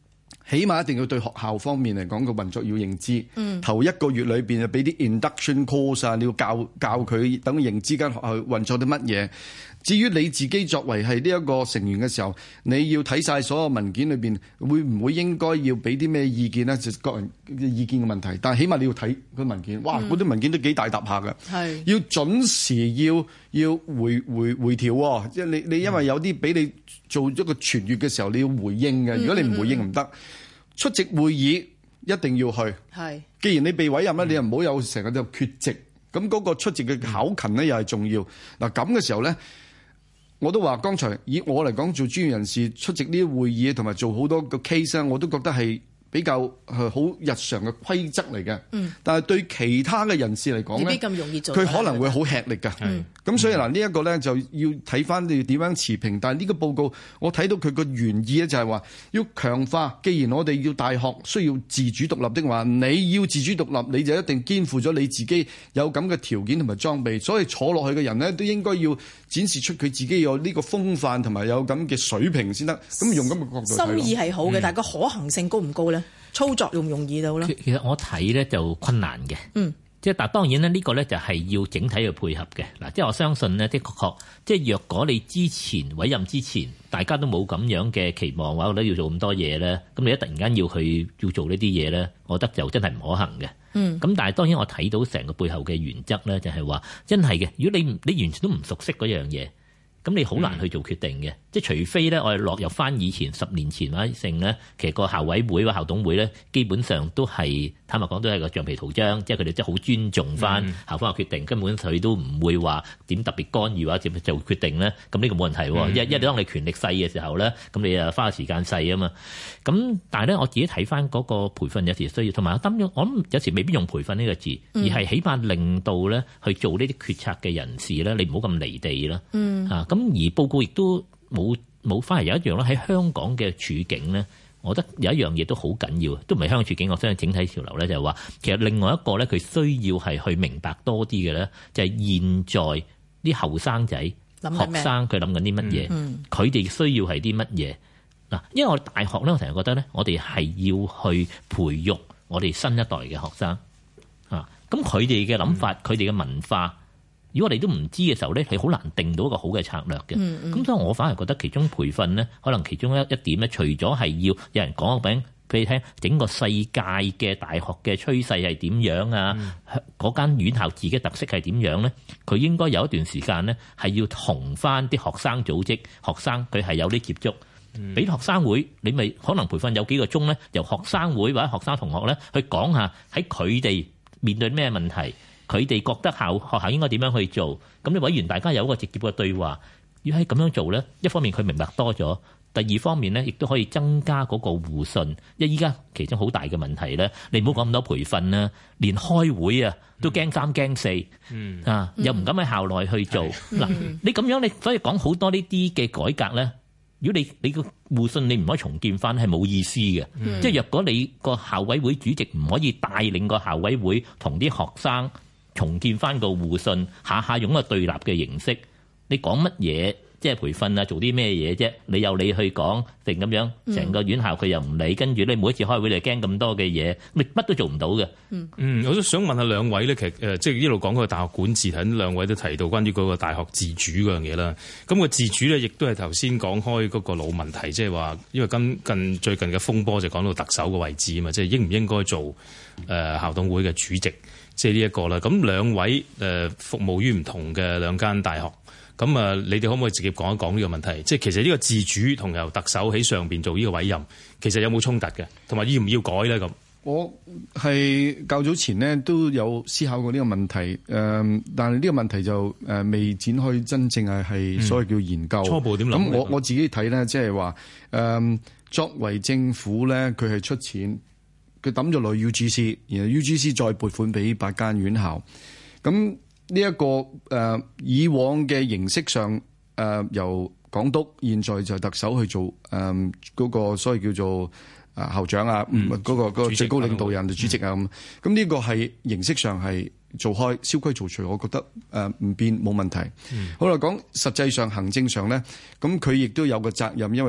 起碼一定要對學校方面嚟講個運作要認知。頭1個月裏邊就俾啲 induction course 啊，你要教佢等佢認知間學校運作啲乜嘢。至於你自己作為係呢一個成員嘅時候，你要睇晒所有文件裏邊，會唔會應該要俾啲咩意見呢？就個人嘅意見嘅問題。但係起碼你要睇個文件，哇！嗰啲文件都幾大沓下㗎，要準時要回調喎。即係你因為有啲俾你做一個傳閱嘅時候，你要回應嘅。如果你唔回應唔得，出席會議一定要去。既然你被委任咧，你又唔好有成日就缺席。咁嗰個出席嘅考勤咧又係重要。嗱咁嘅時候咧。我都話，剛才以我嚟講，做專業人士出席呢啲會議同埋做好多個 case 我都覺得係比較好日常嘅規則嚟嘅。但係對其他嘅人士嚟講咧， 未必咁容易做。 佢可能會好吃力㗎。咁所以嗱，呢一個咧就要睇翻你點樣持平。但係呢個報告，我睇到佢個原意咧就係話要強化。既然我哋要大學需要自主獨立的話，你要自主獨立，你就一定肩負咗你自己有咁嘅條件同埋裝備。所以坐落去嘅人咧，都應該要展示出佢自己有呢個風範同埋有咁嘅水平先得。咁用咁嘅角度睇， 心意係好嘅，但係個可行性高唔高咧？操作容唔容易到咧？ 其實我睇咧就困難嘅。即係但當然咧，呢個咧就係要整體去配合嘅嗱。即係我相信呢，的確即係若果你之前委任之前，大家都冇咁樣嘅期望話，我覺得要做咁多嘢咧，咁你一突然間要做呢啲嘢咧，我覺得就真係唔可行嘅。咁但係當然我睇到成個背後嘅原則咧，就係話真係嘅。如果你完全都唔熟悉嗰樣嘢，咁你好難去做決定嘅。即係除非咧，我哋落入翻以前10年前或者成咧，其實個校委會或校董會咧，基本上都係坦白講都係個橡皮圖章，即係佢哋真係好尊重翻校方嘅決定，根本佢都唔會話點特別干預或者點做決定咧。咁呢個冇問題。因為當你權力細嘅時候咧，咁你啊花嘅時間細啊嘛。咁但係咧，我自己睇翻嗰個培訓有時需要，同埋我諗有時未必用培訓呢個字，而係起碼令到咧去做呢啲決策嘅人士咧，你唔好咁離地啦。咁而報告亦都冇翻嚟有一樣咧，喺香港嘅處境咧，我覺得有一樣嘢都好緊要，都唔係香港處境，我相信整體潮流咧就係話，其實另外一個咧佢需要係去明白多啲嘅咧，就係現在啲後生仔學生佢諗緊啲乜嘢，佢哋需要係啲乜嘢嗱？因為我哋大學咧，我成日覺得咧，我哋係要去培育我哋新一代嘅學生啊，咁佢哋嘅諗法，佢哋嘅文化。如果我哋都唔知嘅時候咧，係好難定到一個好嘅策略嘅。咁所以我反而覺得其中培訓咧，可能其中一點咧，除咗係要有人講俾你聽，整個世界嘅大學嘅趨勢係點樣啊？嗰間院校自己特色係點樣咧？佢應該有一段時間咧，係要同翻啲學生組織、學生佢係有啲接觸，俾學生會，你咪可能培訓有幾個鐘咧，由學生會或者學生同學咧去講下喺佢哋面對咩問題。佢哋覺得學校應該點樣去做？咁你委員大家有一個直接嘅對話，要喺咁樣做咧，一方面佢明白多咗，第二方面咧亦都可以增加嗰個互信。因為依家其中好大嘅問題咧，你唔好講咁多培訓啦，連開會啊都驚3驚4，又唔敢喺校內去做。嗱，你咁樣你所以講好多呢啲嘅改革咧，如果你個互信你唔可以重建翻，係冇意思嘅。即係若果你個校委會主席唔可以帶領個校委會同啲學生重建翻個互信，下下用個對立嘅形式，你講乜嘢？即係培訓啊，做啲咩嘢啫？你有你去講定咁樣，成個院校佢又唔理，跟住你每一次開會你驚咁多嘅嘢，你乜都做唔到嘅。 我都想問下兩位咧，其實即係一路講嗰個大學管治，睇兩位都提到關於嗰個大學自主嗰樣嘢啦。咁個自主咧，亦都係頭先講開嗰個老問題，即係話因為最近嘅風波就講到特首嘅位置啊嘛，即係應唔應該做校董會嘅主席？即係呢一個啦，咁兩位服務於唔同嘅兩間大學，咁你哋可唔可以直接講一講呢個問題？即係其實呢個自主同由特首喺上邊做呢個委任，其實有冇衝突嘅？同埋要唔要改咧？咁我係較早前呢都有思考過呢個問題，但係呢個問題就未展開真正係所謂叫研究。初步點諗？ 咁我自己睇咧，即係話作為政府咧，佢係出錢。佢抌咗落 UGC， 然後 UGC 再撥款俾8間院校。咁呢一個以往嘅形式上，由港督，現在就特首去做嗰個所謂叫做校長啊，嗰個最高領導人主席啊咁。咁呢個係形式上係做開，蕭規曹隨，我覺得唔變冇問題。好啦，講實際上行政上咧，咁佢亦都有個責任，因為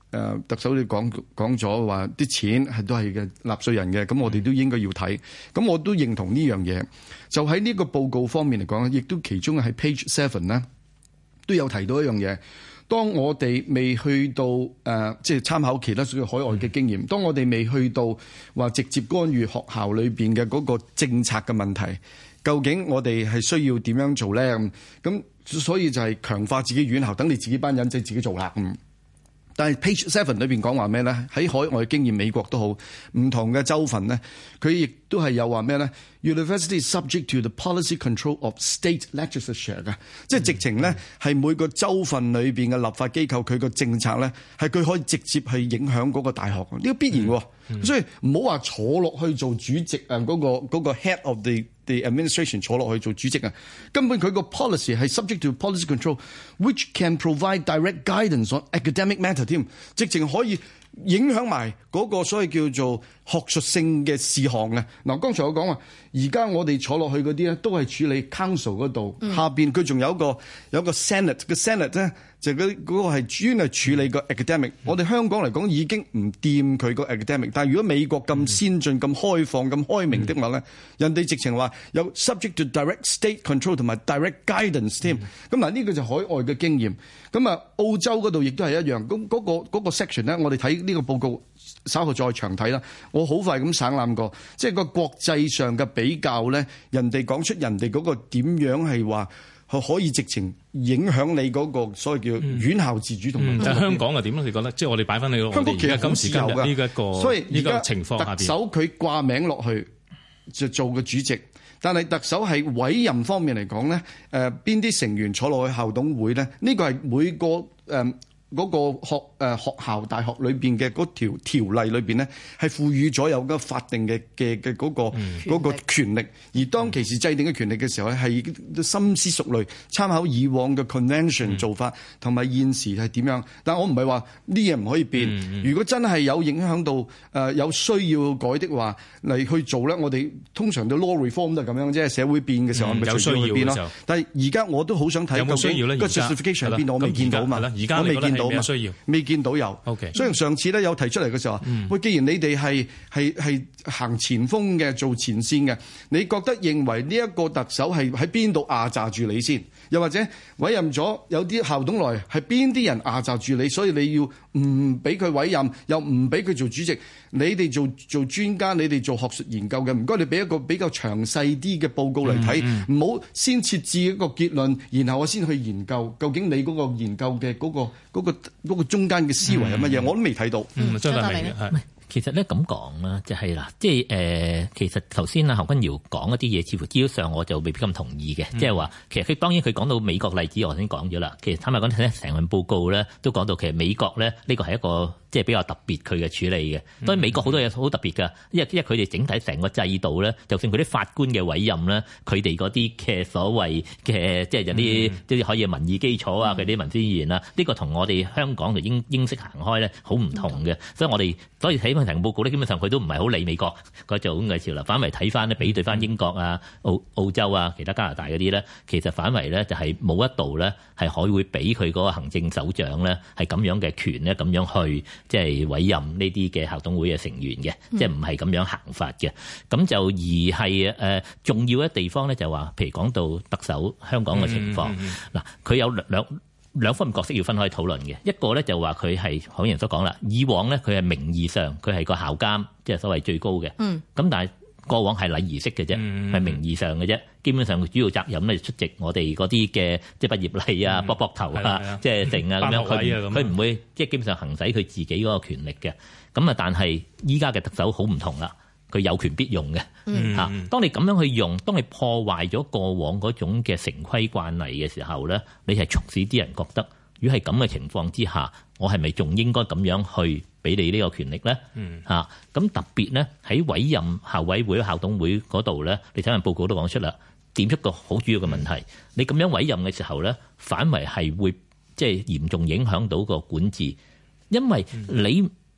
特首你講咗話啲錢都係嘅納稅人嘅，咁我哋都應該要睇。咁我都認同呢樣嘢。就喺呢個報告方面嚟講，亦都其中係 page 7咧都有提到一樣嘢。當我哋未去到即係參考其他海外嘅經驗，當我哋未去到話直接干預學校裏邊嘅嗰個政策嘅問題，究竟我哋係需要點樣做咧？咁所以就係強化自己院校，等你自己班人仔自己做啦。但係 Page 7裏邊講話咩咧？喺海外經驗，美國都好，唔同嘅州份咧，佢亦都係有話咩咧 ？University is subject to the policy control of state legislature 嘅，即係直情咧係每個州份裏邊嘅立法機構佢個政策咧，係佢可以直接去影響嗰個大學，呢個必然喎。所以唔好話坐落去做主席啊，嗰個 head of the administration 坐落去做主席啊，根本佢個 policy 係 subject to policy control，which can provide direct guidance on academic matter 添，直情可以影響埋嗰個所謂叫做學術性嘅事項嘅。嗱，剛才我講話，而家我哋坐落去嗰啲咧，都係處理 council 嗰度，下邊佢仲有個 senate 嘅 senate 咧，就嗰個係專係處理個 academic。我哋香港嚟講已經唔掂佢個 academic， 但係如果美國咁先進、咁開放、咁開明的話咧，人哋直情話有 subject to direct state control 同埋 direct guidance 添。咁嗱，呢個就海外嘅經驗。咁啊，澳洲嗰度亦都係一樣。咁嗰個 section 咧，我哋睇呢個報告稍後再詳睇啦。我好快咁省覽過，即係個國際上嘅比較咧，人哋講出人哋嗰個點樣係話可以直情影響你嗰個所謂叫院校自主同埋。 但係香港係點咧？你覺得？即係我哋擺翻你個香港其實今時今日呢一個， 所以呢個情況下邊， 特首佢掛名落去就做個主席。但係特首係委任方面嚟講咧，邊啲成員坐落去校董會咧？呢個係每個嗰個學校大學裏邊嘅嗰條例裏邊咧，係賦予咗有個法定嘅嗰個權力。而當其時制定嘅權力嘅時候咧，係深思熟慮，參考以往嘅 convention 做法，同埋現時係點樣。但我唔係話呢嘢唔可以變。如果真係有影響到有需要改的話嚟去做咧，我哋通常都 law reform 都係咁樣，即係社會變嘅時候，咪隨住去變咯。但係而家我都好想睇有冇需要咧？ 個 justification 係邊度？我未見到嘛。 而家我未見到嘛。 需要未見到有。 Okay. 所以上次咧有提出嚟嘅時候，喂，既然你哋係行前鋒嘅，做前線嘅，你覺得認為呢一個特首係喺邊度壓榨住你先？又或者委任咗有啲校董來係邊啲人壓榨住你？所以你要唔俾佢委任，又唔俾佢做主席？你哋做專家，你哋做學術研究嘅，唔該你俾一個比較詳細啲嘅報告嚟睇，唔好先設置一個結論，然後我先去研究究竟你嗰個研究嘅嗰個中間嘅思維係乜嘢，我都未睇到。 張達明係。 其實咧咁講啦，就係啦，即係其實頭先啊何君堯講一啲嘢，似乎資料上我就未必咁同意嘅，即係話其實佢當然佢講到美國例子，我先講咗啦。其實坦白講咧，成份報告咧都講到其實美國咧呢個係一個即係比較特別佢嘅處理嘅。當然美國好多嘢好特別㗎，因為佢哋整體成個制度咧，就算佢啲法官嘅委任咧，佢哋嗰啲嘅所謂嘅即係有啲即係可以民意基礎啊，佢啲民主議員啊，呢個同我哋香港就英式行開咧好唔同嘅。所以睇翻成個報告咧，基本上佢都唔係好理美國嗰種嘅潮流，反為睇翻咧比對翻英國啊、澳洲啊、其他加拿大嗰啲咧，其實反為咧就係冇一度咧係可以會俾佢嗰個行政首長咧係咁樣嘅權咧咁樣去即係委任呢啲嘅校董會嘅成員嘅，即係唔係咁樣行法嘅。咁就而係重要嘅地方咧就話，譬如講到特首香港嘅情況，嗱佢有兩方面角色要分開討論嘅。一個咧就話佢係好似人所講啦，以往咧佢係名義上佢係個校監，即係所謂最高嘅。咁但係過往係禮儀式嘅啫，係名義上嘅啫。基本上佢主要責任咧出席我哋嗰啲嘅即係畢業禮啊、卜卜頭啊、即係剩啊咁樣。佢唔會即係基本上行使佢自己嗰個權力嘅。咁啊，但係依家嘅特首好唔同啦。佢有權必用嘅嚇。當你咁樣去用，當你破壞咗過往嗰種嘅成規慣例嘅時候咧，你係促使啲人覺得，如果係咁嘅情況之下，我係咪仲應該咁樣去俾你呢個權力咧？嚇咁特別咧喺委任校委會、校董會嗰度咧，你睇下報告都講出啦，點出個好主要嘅問題。你咁樣委任嘅時候咧，反為係會即係嚴重影響到個管治，因為你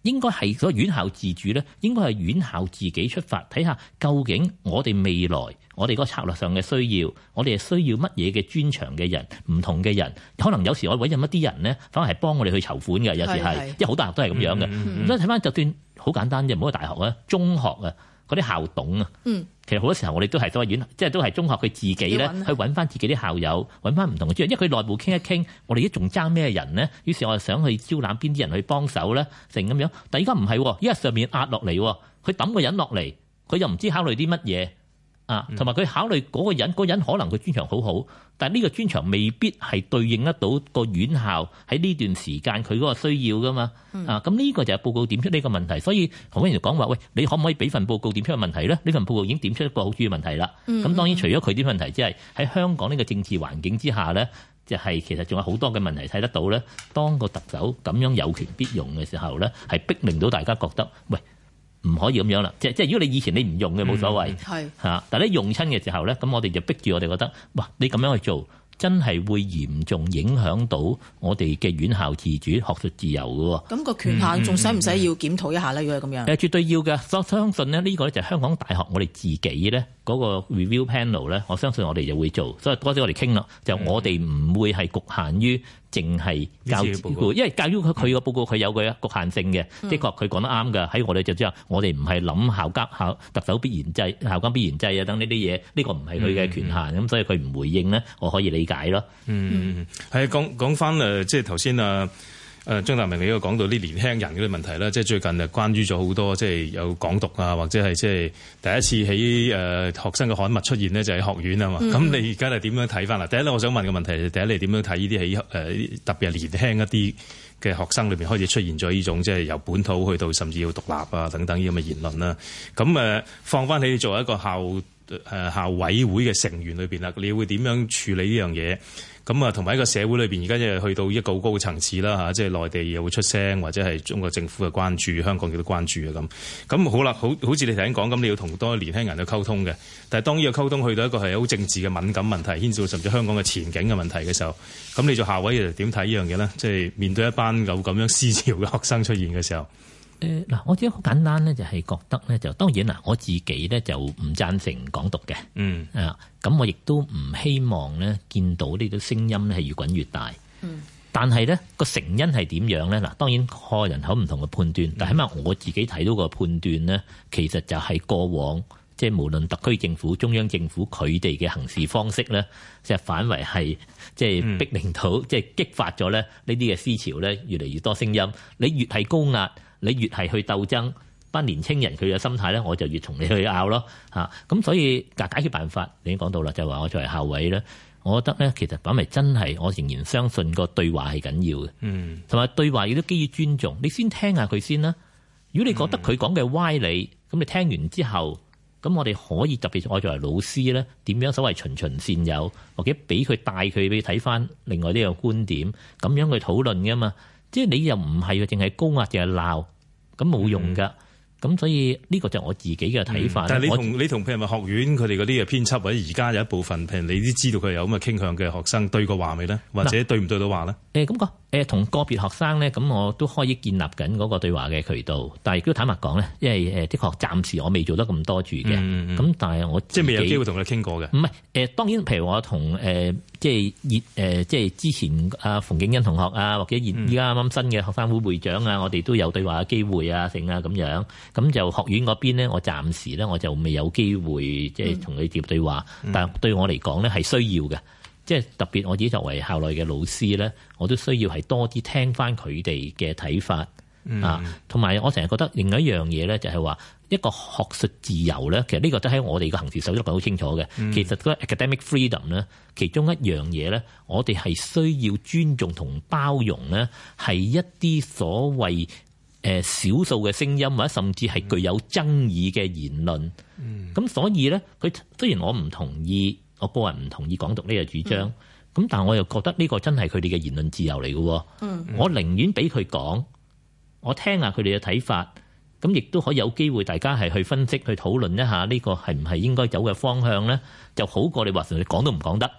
應該係所謂院校自主咧，應該係院校自己出發，睇下究竟我哋未來我哋嗰個策略上嘅需要，我哋係需要乜嘢嘅專長嘅人，唔同嘅人，可能有時我委任一啲人咧，反而係幫我哋去籌款嘅，有時係，因為好多大學都係咁樣嘅。所以睇翻就算好簡單啫，唔好話大學啊，中學啊。嗰啲校董啊，其實好多時候我哋都係所謂院，即係都係中學佢自己咧去揾翻自己啲校友，揾翻唔同嘅專業，因為佢內部傾一傾，我哋而家仲爭咩人呢？於是我就想去招攬邊啲人去幫手咧，成咁樣。但係而家唔係，因為上面壓落嚟，佢抌個人落嚟，佢又唔知考慮啲乜嘢啊，同埋佢考慮嗰個人，嗰人可能佢專長好好，但係呢個專長未必係對應得到個院校喺呢段時間佢嗰個需要噶嘛。咁呢個就係報告點出呢個問題。所以何君堯講話，喂，你可唔可以俾份報告點出個問題咧？呢份報告已經點出一個好主要問題啦。咁當然除咗佢啲問題之外，喺香港呢個政治環境之下咧，就係其實仲有好多嘅問題睇得到咧。當個特首咁樣有權必用嘅時候咧，係逼令到大家覺得，喂，唔可以咁樣啦，即係如果你以前你唔用嘅冇所謂，但係你用親嘅時候咧，咁我哋就逼住我哋覺得，哇！你咁樣去做，真係會嚴重影響到我哋嘅院校自主、學術自由嘅。 咁個權限仲使唔使要檢討一下咧？如果係咁樣， 絕對要嘅。我相信咧，呢個咧就係香港大學我哋自己咧嗰個 review panel 咧，我相信我哋就會做。所以多啲我哋傾啦，就我哋唔會係局限於淨係教育報告，因為教育佢個報告佢有個局限性嘅，的確佢講得啱㗎。喺我哋就知道，我哋唔係諗校特首必然制、校監必然制啊等呢啲嘢，呢個唔係佢嘅權限，咁所以佢唔回應咧，我可以理解咯。 係講翻即係頭先張達明你都講到啲年輕人嗰啲問題啦，即係最近關於咗好多即係有港獨啊，或者係即係第一次喺學生嘅刊物出現呢，就喺學院啊嘛。咁你而家係點樣睇翻啦？第一咧，我想問嘅問題，第一你點樣睇呢啲喺特別係年輕一啲嘅學生裏邊開始出現咗呢種即係由本土去到甚至要獨立啊等等呢咁嘅言論啦？咁放翻你作為一個校委會嘅成員裏邊啦，你會點樣處理呢樣嘢？咁啊，同埋一個社會裏邊，而家即係去到一個好高嘅層次啦嚇，即係內地又會出聲，或者係中國政府嘅關注，香港亦都關注啊咁。咁好啦，好似你頭先講咁，你要同多年輕人去溝通嘅。但係當呢個溝通去到一個係好政治嘅敏感問題，牽涉到甚至香港嘅前景嘅問題嘅時候，咁你做校委又點睇呢樣嘢咧？即係面對一班有咁樣思潮嘅學生出現嘅時候。 嗱，我自己好簡單咧，就係覺得咧，就當然啦，我自己咧就唔贊成港獨嘅，咁我亦都唔希望咧見到呢啲聲音咧係越滾越大，但係咧個成因係點樣咧？嗱，當然個人有唔同嘅判斷，但係起碼我自己睇到個判斷咧，其實就係過往即係無論特區政府、中央政府佢哋嘅行事方式咧，即係反為係即係逼令到即係激發咗咧呢啲嘅思潮咧，越嚟越多聲音，你越係高壓，你越係去鬥爭，班年青人佢嘅心態咧，我就越同你去拗咯嚇。咁所以解決辦法，你已經講到啦，就係話我作為校委咧，我覺得咧其實反為真係，我仍然相信個對話係緊要嘅，同埋對話亦都基於尊重。你先聽下佢先啦。如果你覺得佢講嘅歪理，咁你聽完之後，咁我哋可以特別我作為老師咧，點樣所謂循循善誘，或者俾佢帶佢俾睇翻另外呢個觀點，咁樣去討論㗎嘛。即係你又唔係淨係高壓，淨係鬧，咁冇用㗎。咁所以呢個就係我自己嘅睇法。 但係你同譬如話學院佢哋嗰啲嘅編輯，或者而家有一部分譬如你都知道佢有咁嘅傾向嘅學生對過話未咧？或者對唔對到話咧？咁講同個別學生咧，咁我都可以建立緊嗰個對話嘅渠道。但係亦都坦白講咧，因為的確暫時我未做得咁多住嘅。咁但係我即係未有機會同佢傾過嘅。 唔係當然，譬如我同即係之前阿馮敬恩同學啊，或者依家啱啱新嘅學生會會長啊，我哋都有對話嘅機會啊，成啊咁樣。咁就學院嗰邊咧，我暫時咧我就未有機會即係同佢接對話。但係對我嚟講咧係需要嘅，即係特別我自己作為校內嘅老師咧，我都需要係多啲聽翻佢哋嘅睇法啊。同埋我成日覺得另外一樣嘢咧，就係話一個學術自由咧，其實呢個都喺我哋嘅行事守則好清楚嘅。其實個 academic freedom 咧，其中一樣嘢咧，我哋係需要尊重同包容咧，係一啲所謂少數嘅聲音，或者甚至係具有爭議嘅言論。咁所以咧，佢雖然我唔同意，我個人唔同意港獨呢個主張，咁但係我又覺得呢個真係佢哋嘅言論自由嚟嘅。我寧願俾佢講，我聽下佢哋嘅睇法，咁亦都可以有機會大家係去分析、去討論一下呢個係唔係應該走嘅方向咧，就好過你話純粹講都唔講得。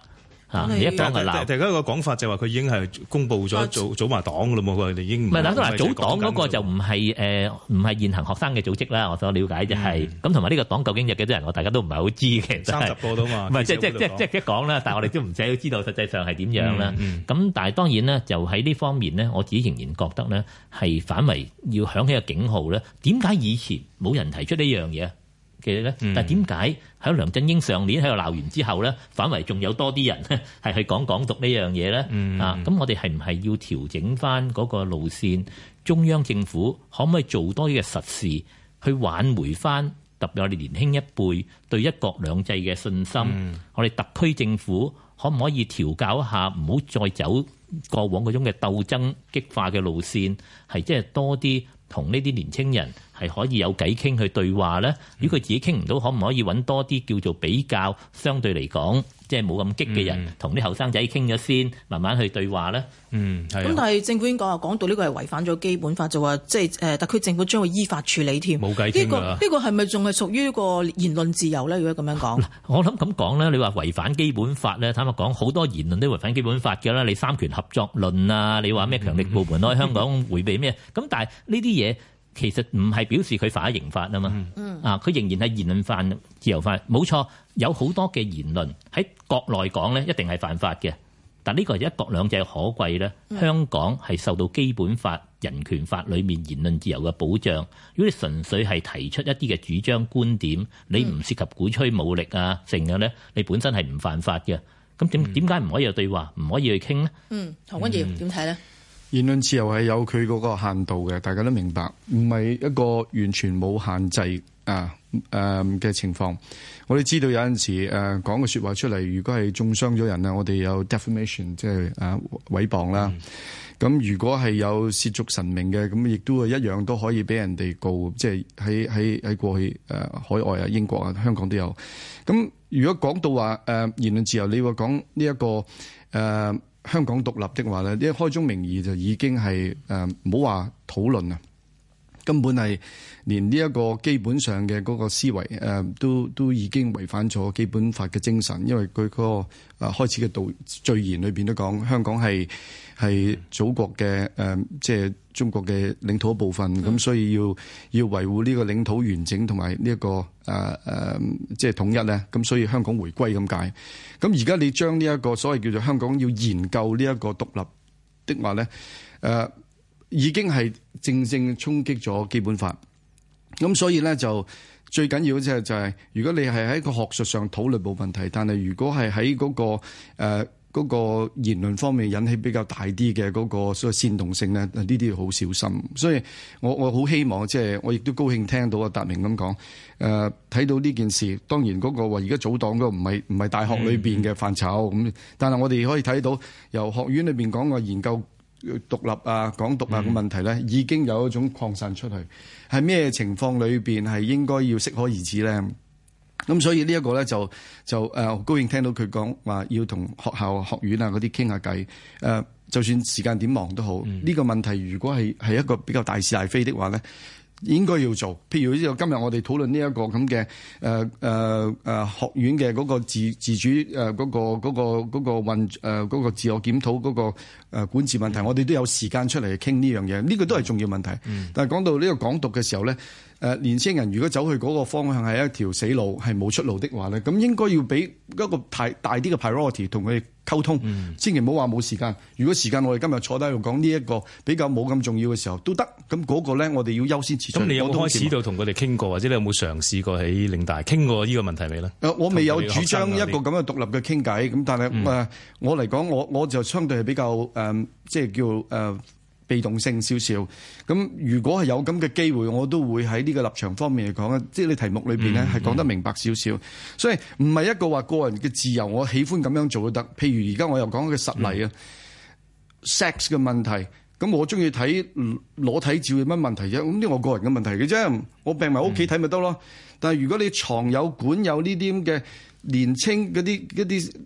你一講係鬧， 大家個講法就話佢已經係公佈咗組埋黨㗎啦嘛，佢哋已經唔係嗱，組黨嗰個就唔係現行學生嘅組織啦。我所了解就係咁，同埋呢個黨究竟有幾多人，我大家都唔係好知嘅。 30個到嘛， 唔係即係講啦，但係我哋都唔使知道實際上係點樣啦。咁但係當然咧，就喺呢方面咧，我自己仍然覺得咧係反為要響起個警號咧。點解以前冇人提出呢樣嘢嘅咧？但係點解喺梁振英上年喺度鬧完之後咧，反為仲有多啲人咧係去講港獨呢樣嘢咧？咁我哋係唔係要調整翻嗰個路線？中央政府可唔可以做多啲嘅實事去挽回翻特別我哋年輕一輩對一國兩制嘅信心？我哋特區政府可唔可以調教一下，唔好再走過往嗰種嘅鬥爭激化嘅路線，係即係多啲同呢啲年青人係可以有偈傾去對話咧？如果佢自己傾唔到，可唔可以揾多啲叫做比較相對嚟講即係冇咁激嘅人，同啲後生仔傾咗先，慢慢去對話咧？ 咁但係政府已經講到呢個係違反咗基本法，就話即係特區政府將會依法處理添。 冇計傾㗎。 呢個係咪仲係屬於個言論自由咧？如果咁樣講， 我諗咁講咧，你話違反基本法咧，坦白講，好多言論都違反基本法嘅啦。你三權合作論啊，你話咩強力部門喺香港迴避咩？咁但係呢啲嘢其實唔係表示佢犯咗刑法啊嘛。佢仍然係言論犯自由法，冇錯。有好多嘅言論喺國內講咧，一定係犯法嘅。但呢個係一國兩制可貴咧。香港係受到基本法、人權法裏面言論自由嘅保障。如果你純粹係提出一啲嘅主張觀點，你唔涉及鼓吹武力啊，成嘅咧，你本身係唔犯法嘅。咁點解唔可以有對話，唔可以去傾呢？ 何君堯點睇咧？ 言論自由係有佢嗰個限度嘅，大家都明白，唔係一個完全冇限制嘅情況。我哋知道有陣時講嘅說話出嚟，如果係中傷咗人啊，我哋有 defamation， 即係毀謗啦。咁如果係有褻瀆神明嘅，咁亦都係一樣都可以俾人哋告。即係喺過去海外啊、英國啊、香港都有。咁如果講到話言論自由，你話講呢一個香港獨立的話咧，呢一開宗明義就已經係唔好話討論啊，根本係連呢一個基本上嘅嗰個思維都已經違反咗基本法嘅精神，因為佢嗰個開始嘅序言裏邊都講香港係祖國嘅即係中國嘅領土一部分，咁所以要維護呢個領土完整同埋呢一個即係統一咧，咁所以香港回歸咁解。咁而家你將呢一個所謂叫做香港要研究呢一個獨立的話咧，已經係正衝擊咗基本法。咁所以咧就最緊要就係如果你係喺個學術上討論冇問題，但係如果係喺嗰個言論方面引起比較大啲嘅嗰個所謂煽動性咧，呢啲要好小心。所以我好希望即係我亦都高興聽到阿達明咁講，睇到呢件事。當然嗰個話而家組黨嗰個唔係大學裏邊嘅範疇咁，但係我哋可以睇到由學院裏邊講個研究獨立啊、港獨啊嘅問題咧，已經有一種擴散出去。係咩情況裏邊係應該要適可而止咧？咁所以呢一個咧就高興聽到佢講話要同學校學院啊嗰啲傾下偈。就算時間點忙都好，呢個問題如果係一個比較大是大非的話咧，應該要做。譬如今日我哋討論呢一個咁嘅學院嘅嗰個自主嗰個自我檢討嗰個管治問題，我哋都有時間出嚟傾呢樣嘢。呢個都係重要問題。但係講到呢個港獨嘅時候咧，年輕人如果走去嗰個方向係一條死路，係冇出路的話咧，咁應該要俾一個大啲嘅 priority 同佢哋溝通，千祈唔好話冇時間。如果時間我哋今日坐低喺度講呢一個比較冇咁重要嘅時候都得，咁嗰個咧我哋要優先次序。 咁你有冇開始到同佢哋傾過，或者你有冇嘗試過喺嶺大傾過呢個問題未咧？ 我未有主張一個咁嘅獨立嘅傾偈，咁但係我嚟講，我就相對係比較即係叫被動性少少。咁如果係有咁嘅機會，我都會喺呢個立場方面嚟講，即係你題目裏邊咧係講得明白少少。所以唔係一個話個人嘅自由，我喜歡咁樣做都得。譬如而家我又講嘅實例啊，sex 嘅問題，咁我中意睇裸體照有乜問題啫？咁呢我個人嘅問題嘅啫，我病埋屋企睇咪得咯。但係如果你藏有管有呢啲咁嘅年青嗰啲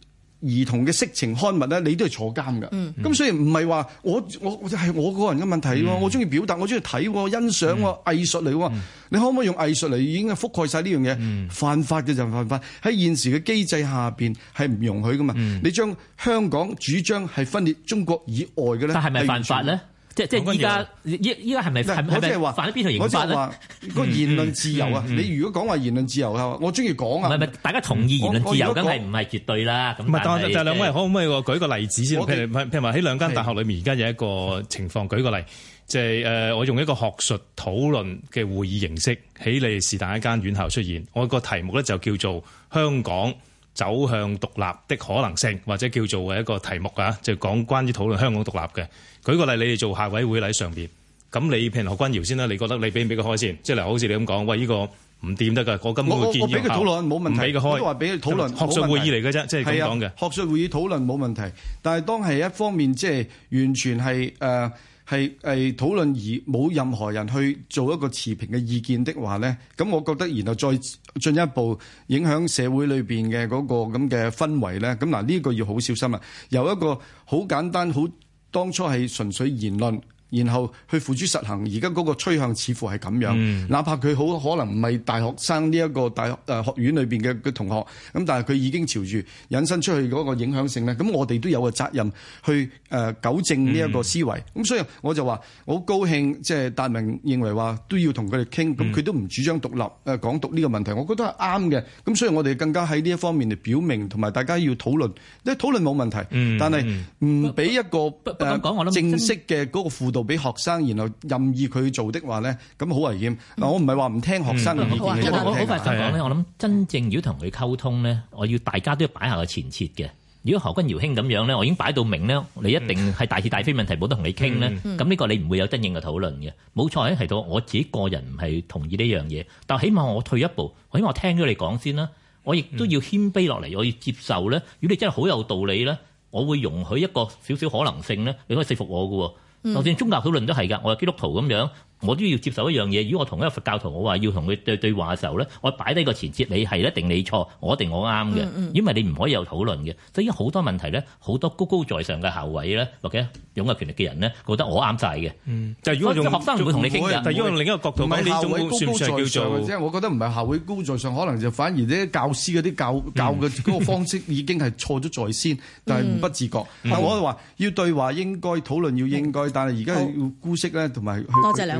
兒童嘅色情刊物咧，你都係坐監㗎。咁所以唔係話我係我個人嘅問題喎，我中意表達，我中意睇，欣賞藝術嚟喎。你可唔可以用藝術嚟已經覆蓋晒呢樣嘢？犯法嘅就犯法，喺現時嘅機制下邊係唔容許㗎嘛。你將香港主張係分裂中國以外嘅咧， 但係咪犯法咧？即係依家係咪我即係話犯咗邊條刑法咧？ 我即係話個言論自由啊！你如果講話言論自由啊，我中意講啊。 唔係，大家同意言論自由，梗係唔係絕對啦。咁但係兩位可唔可以舉個例子先？譬如話喺兩間大學裏面，而家有一個情況，舉個例，即係我用一個學術討論嘅會議形式喺你是但一間院校出現。我個題目咧就叫做香港走向獨立的可能性，或者叫做一個題目啊，就講關於討論香港獨立嘅。舉個例，你哋做校委會喺上邊，咁你譬如何君堯先啦，你覺得你俾唔俾佢開先？即係好似你咁講，喂，呢個唔掂得㗎，我根本會建議我俾佢討論冇問題， 唔俾佢開， 我都話俾佢討論， 學術會議嚟嘅啫，即係咁講嘅。 學術會議討論冇問題，但係當係一方面即係完全係係討論而冇任何人去做一個持平嘅意見的話咧，咁我覺得然後再進一步影響社會裏邊嘅嗰個咁嘅氛圍咧，咁嗱呢個要好小心啊！由一個好簡單好當初係純粹言論，然後去付諸實行，而家嗰個趨向似乎係咁樣。哪怕佢好可能唔係大學生呢一個大學學院裏邊嘅同學，咁但係佢已經朝住引申出去嗰個影響性咧。咁我哋都有個責任去糾正呢一個思維。咁所以我就話我好高興，即係達明認為話都要同佢哋傾，咁佢都唔主張獨立港獨呢個問題，我覺得係啱嘅。咁所以我哋更加喺呢一方面嚟表明，同埋大家要討論。呢討論冇問題，但係唔俾一個正式嘅嗰個輔導俾學生，然後任意佢做的話咧，咁好危險。嗱，我唔係話唔聽學生嘅意見， 我好快想講咧，我諗真正如果同佢溝通咧，我要大家都要擺下個前設嘅。如果何君堯兄咁樣咧，我已經擺到明咧，你一定係大是大非問題冇得同你傾咧，咁呢個你唔會有真正嘅討論嘅。冇錯，喺提到我自己個人唔係同意呢樣嘢，但起碼我退一步，我希望我聽咗你講先啦，我亦都要謙卑落嚟，我要接受咧。如果你真係好有道理咧，我會容許一個少少可能性咧，你可以說服我嘅。就算宗教討論都係㗎，我係基督徒咁樣，我都要接受一樣嘢。如果我同一個佛教徒，我話要同佢對話嘅時候咧，我擺低個前設，你係一定你錯，我一定我啱嘅，因為你唔可以有討論嘅。所以好多問題咧，好多高高在上嘅校委咧，或者擁有權力嘅人咧，覺得我啱晒嘅。 但係如果用學生唔會同你傾嘅， 但係如果用另一個角度講，呢種算唔算叫做？ 即係我覺得唔係校委高在上，可能就反而啲教師嗰啲教嘅嗰個方式已經係錯咗在先，但係不自覺。但我話要對話應該討論要應該，但係而家要姑息咧，同埋多謝兩位。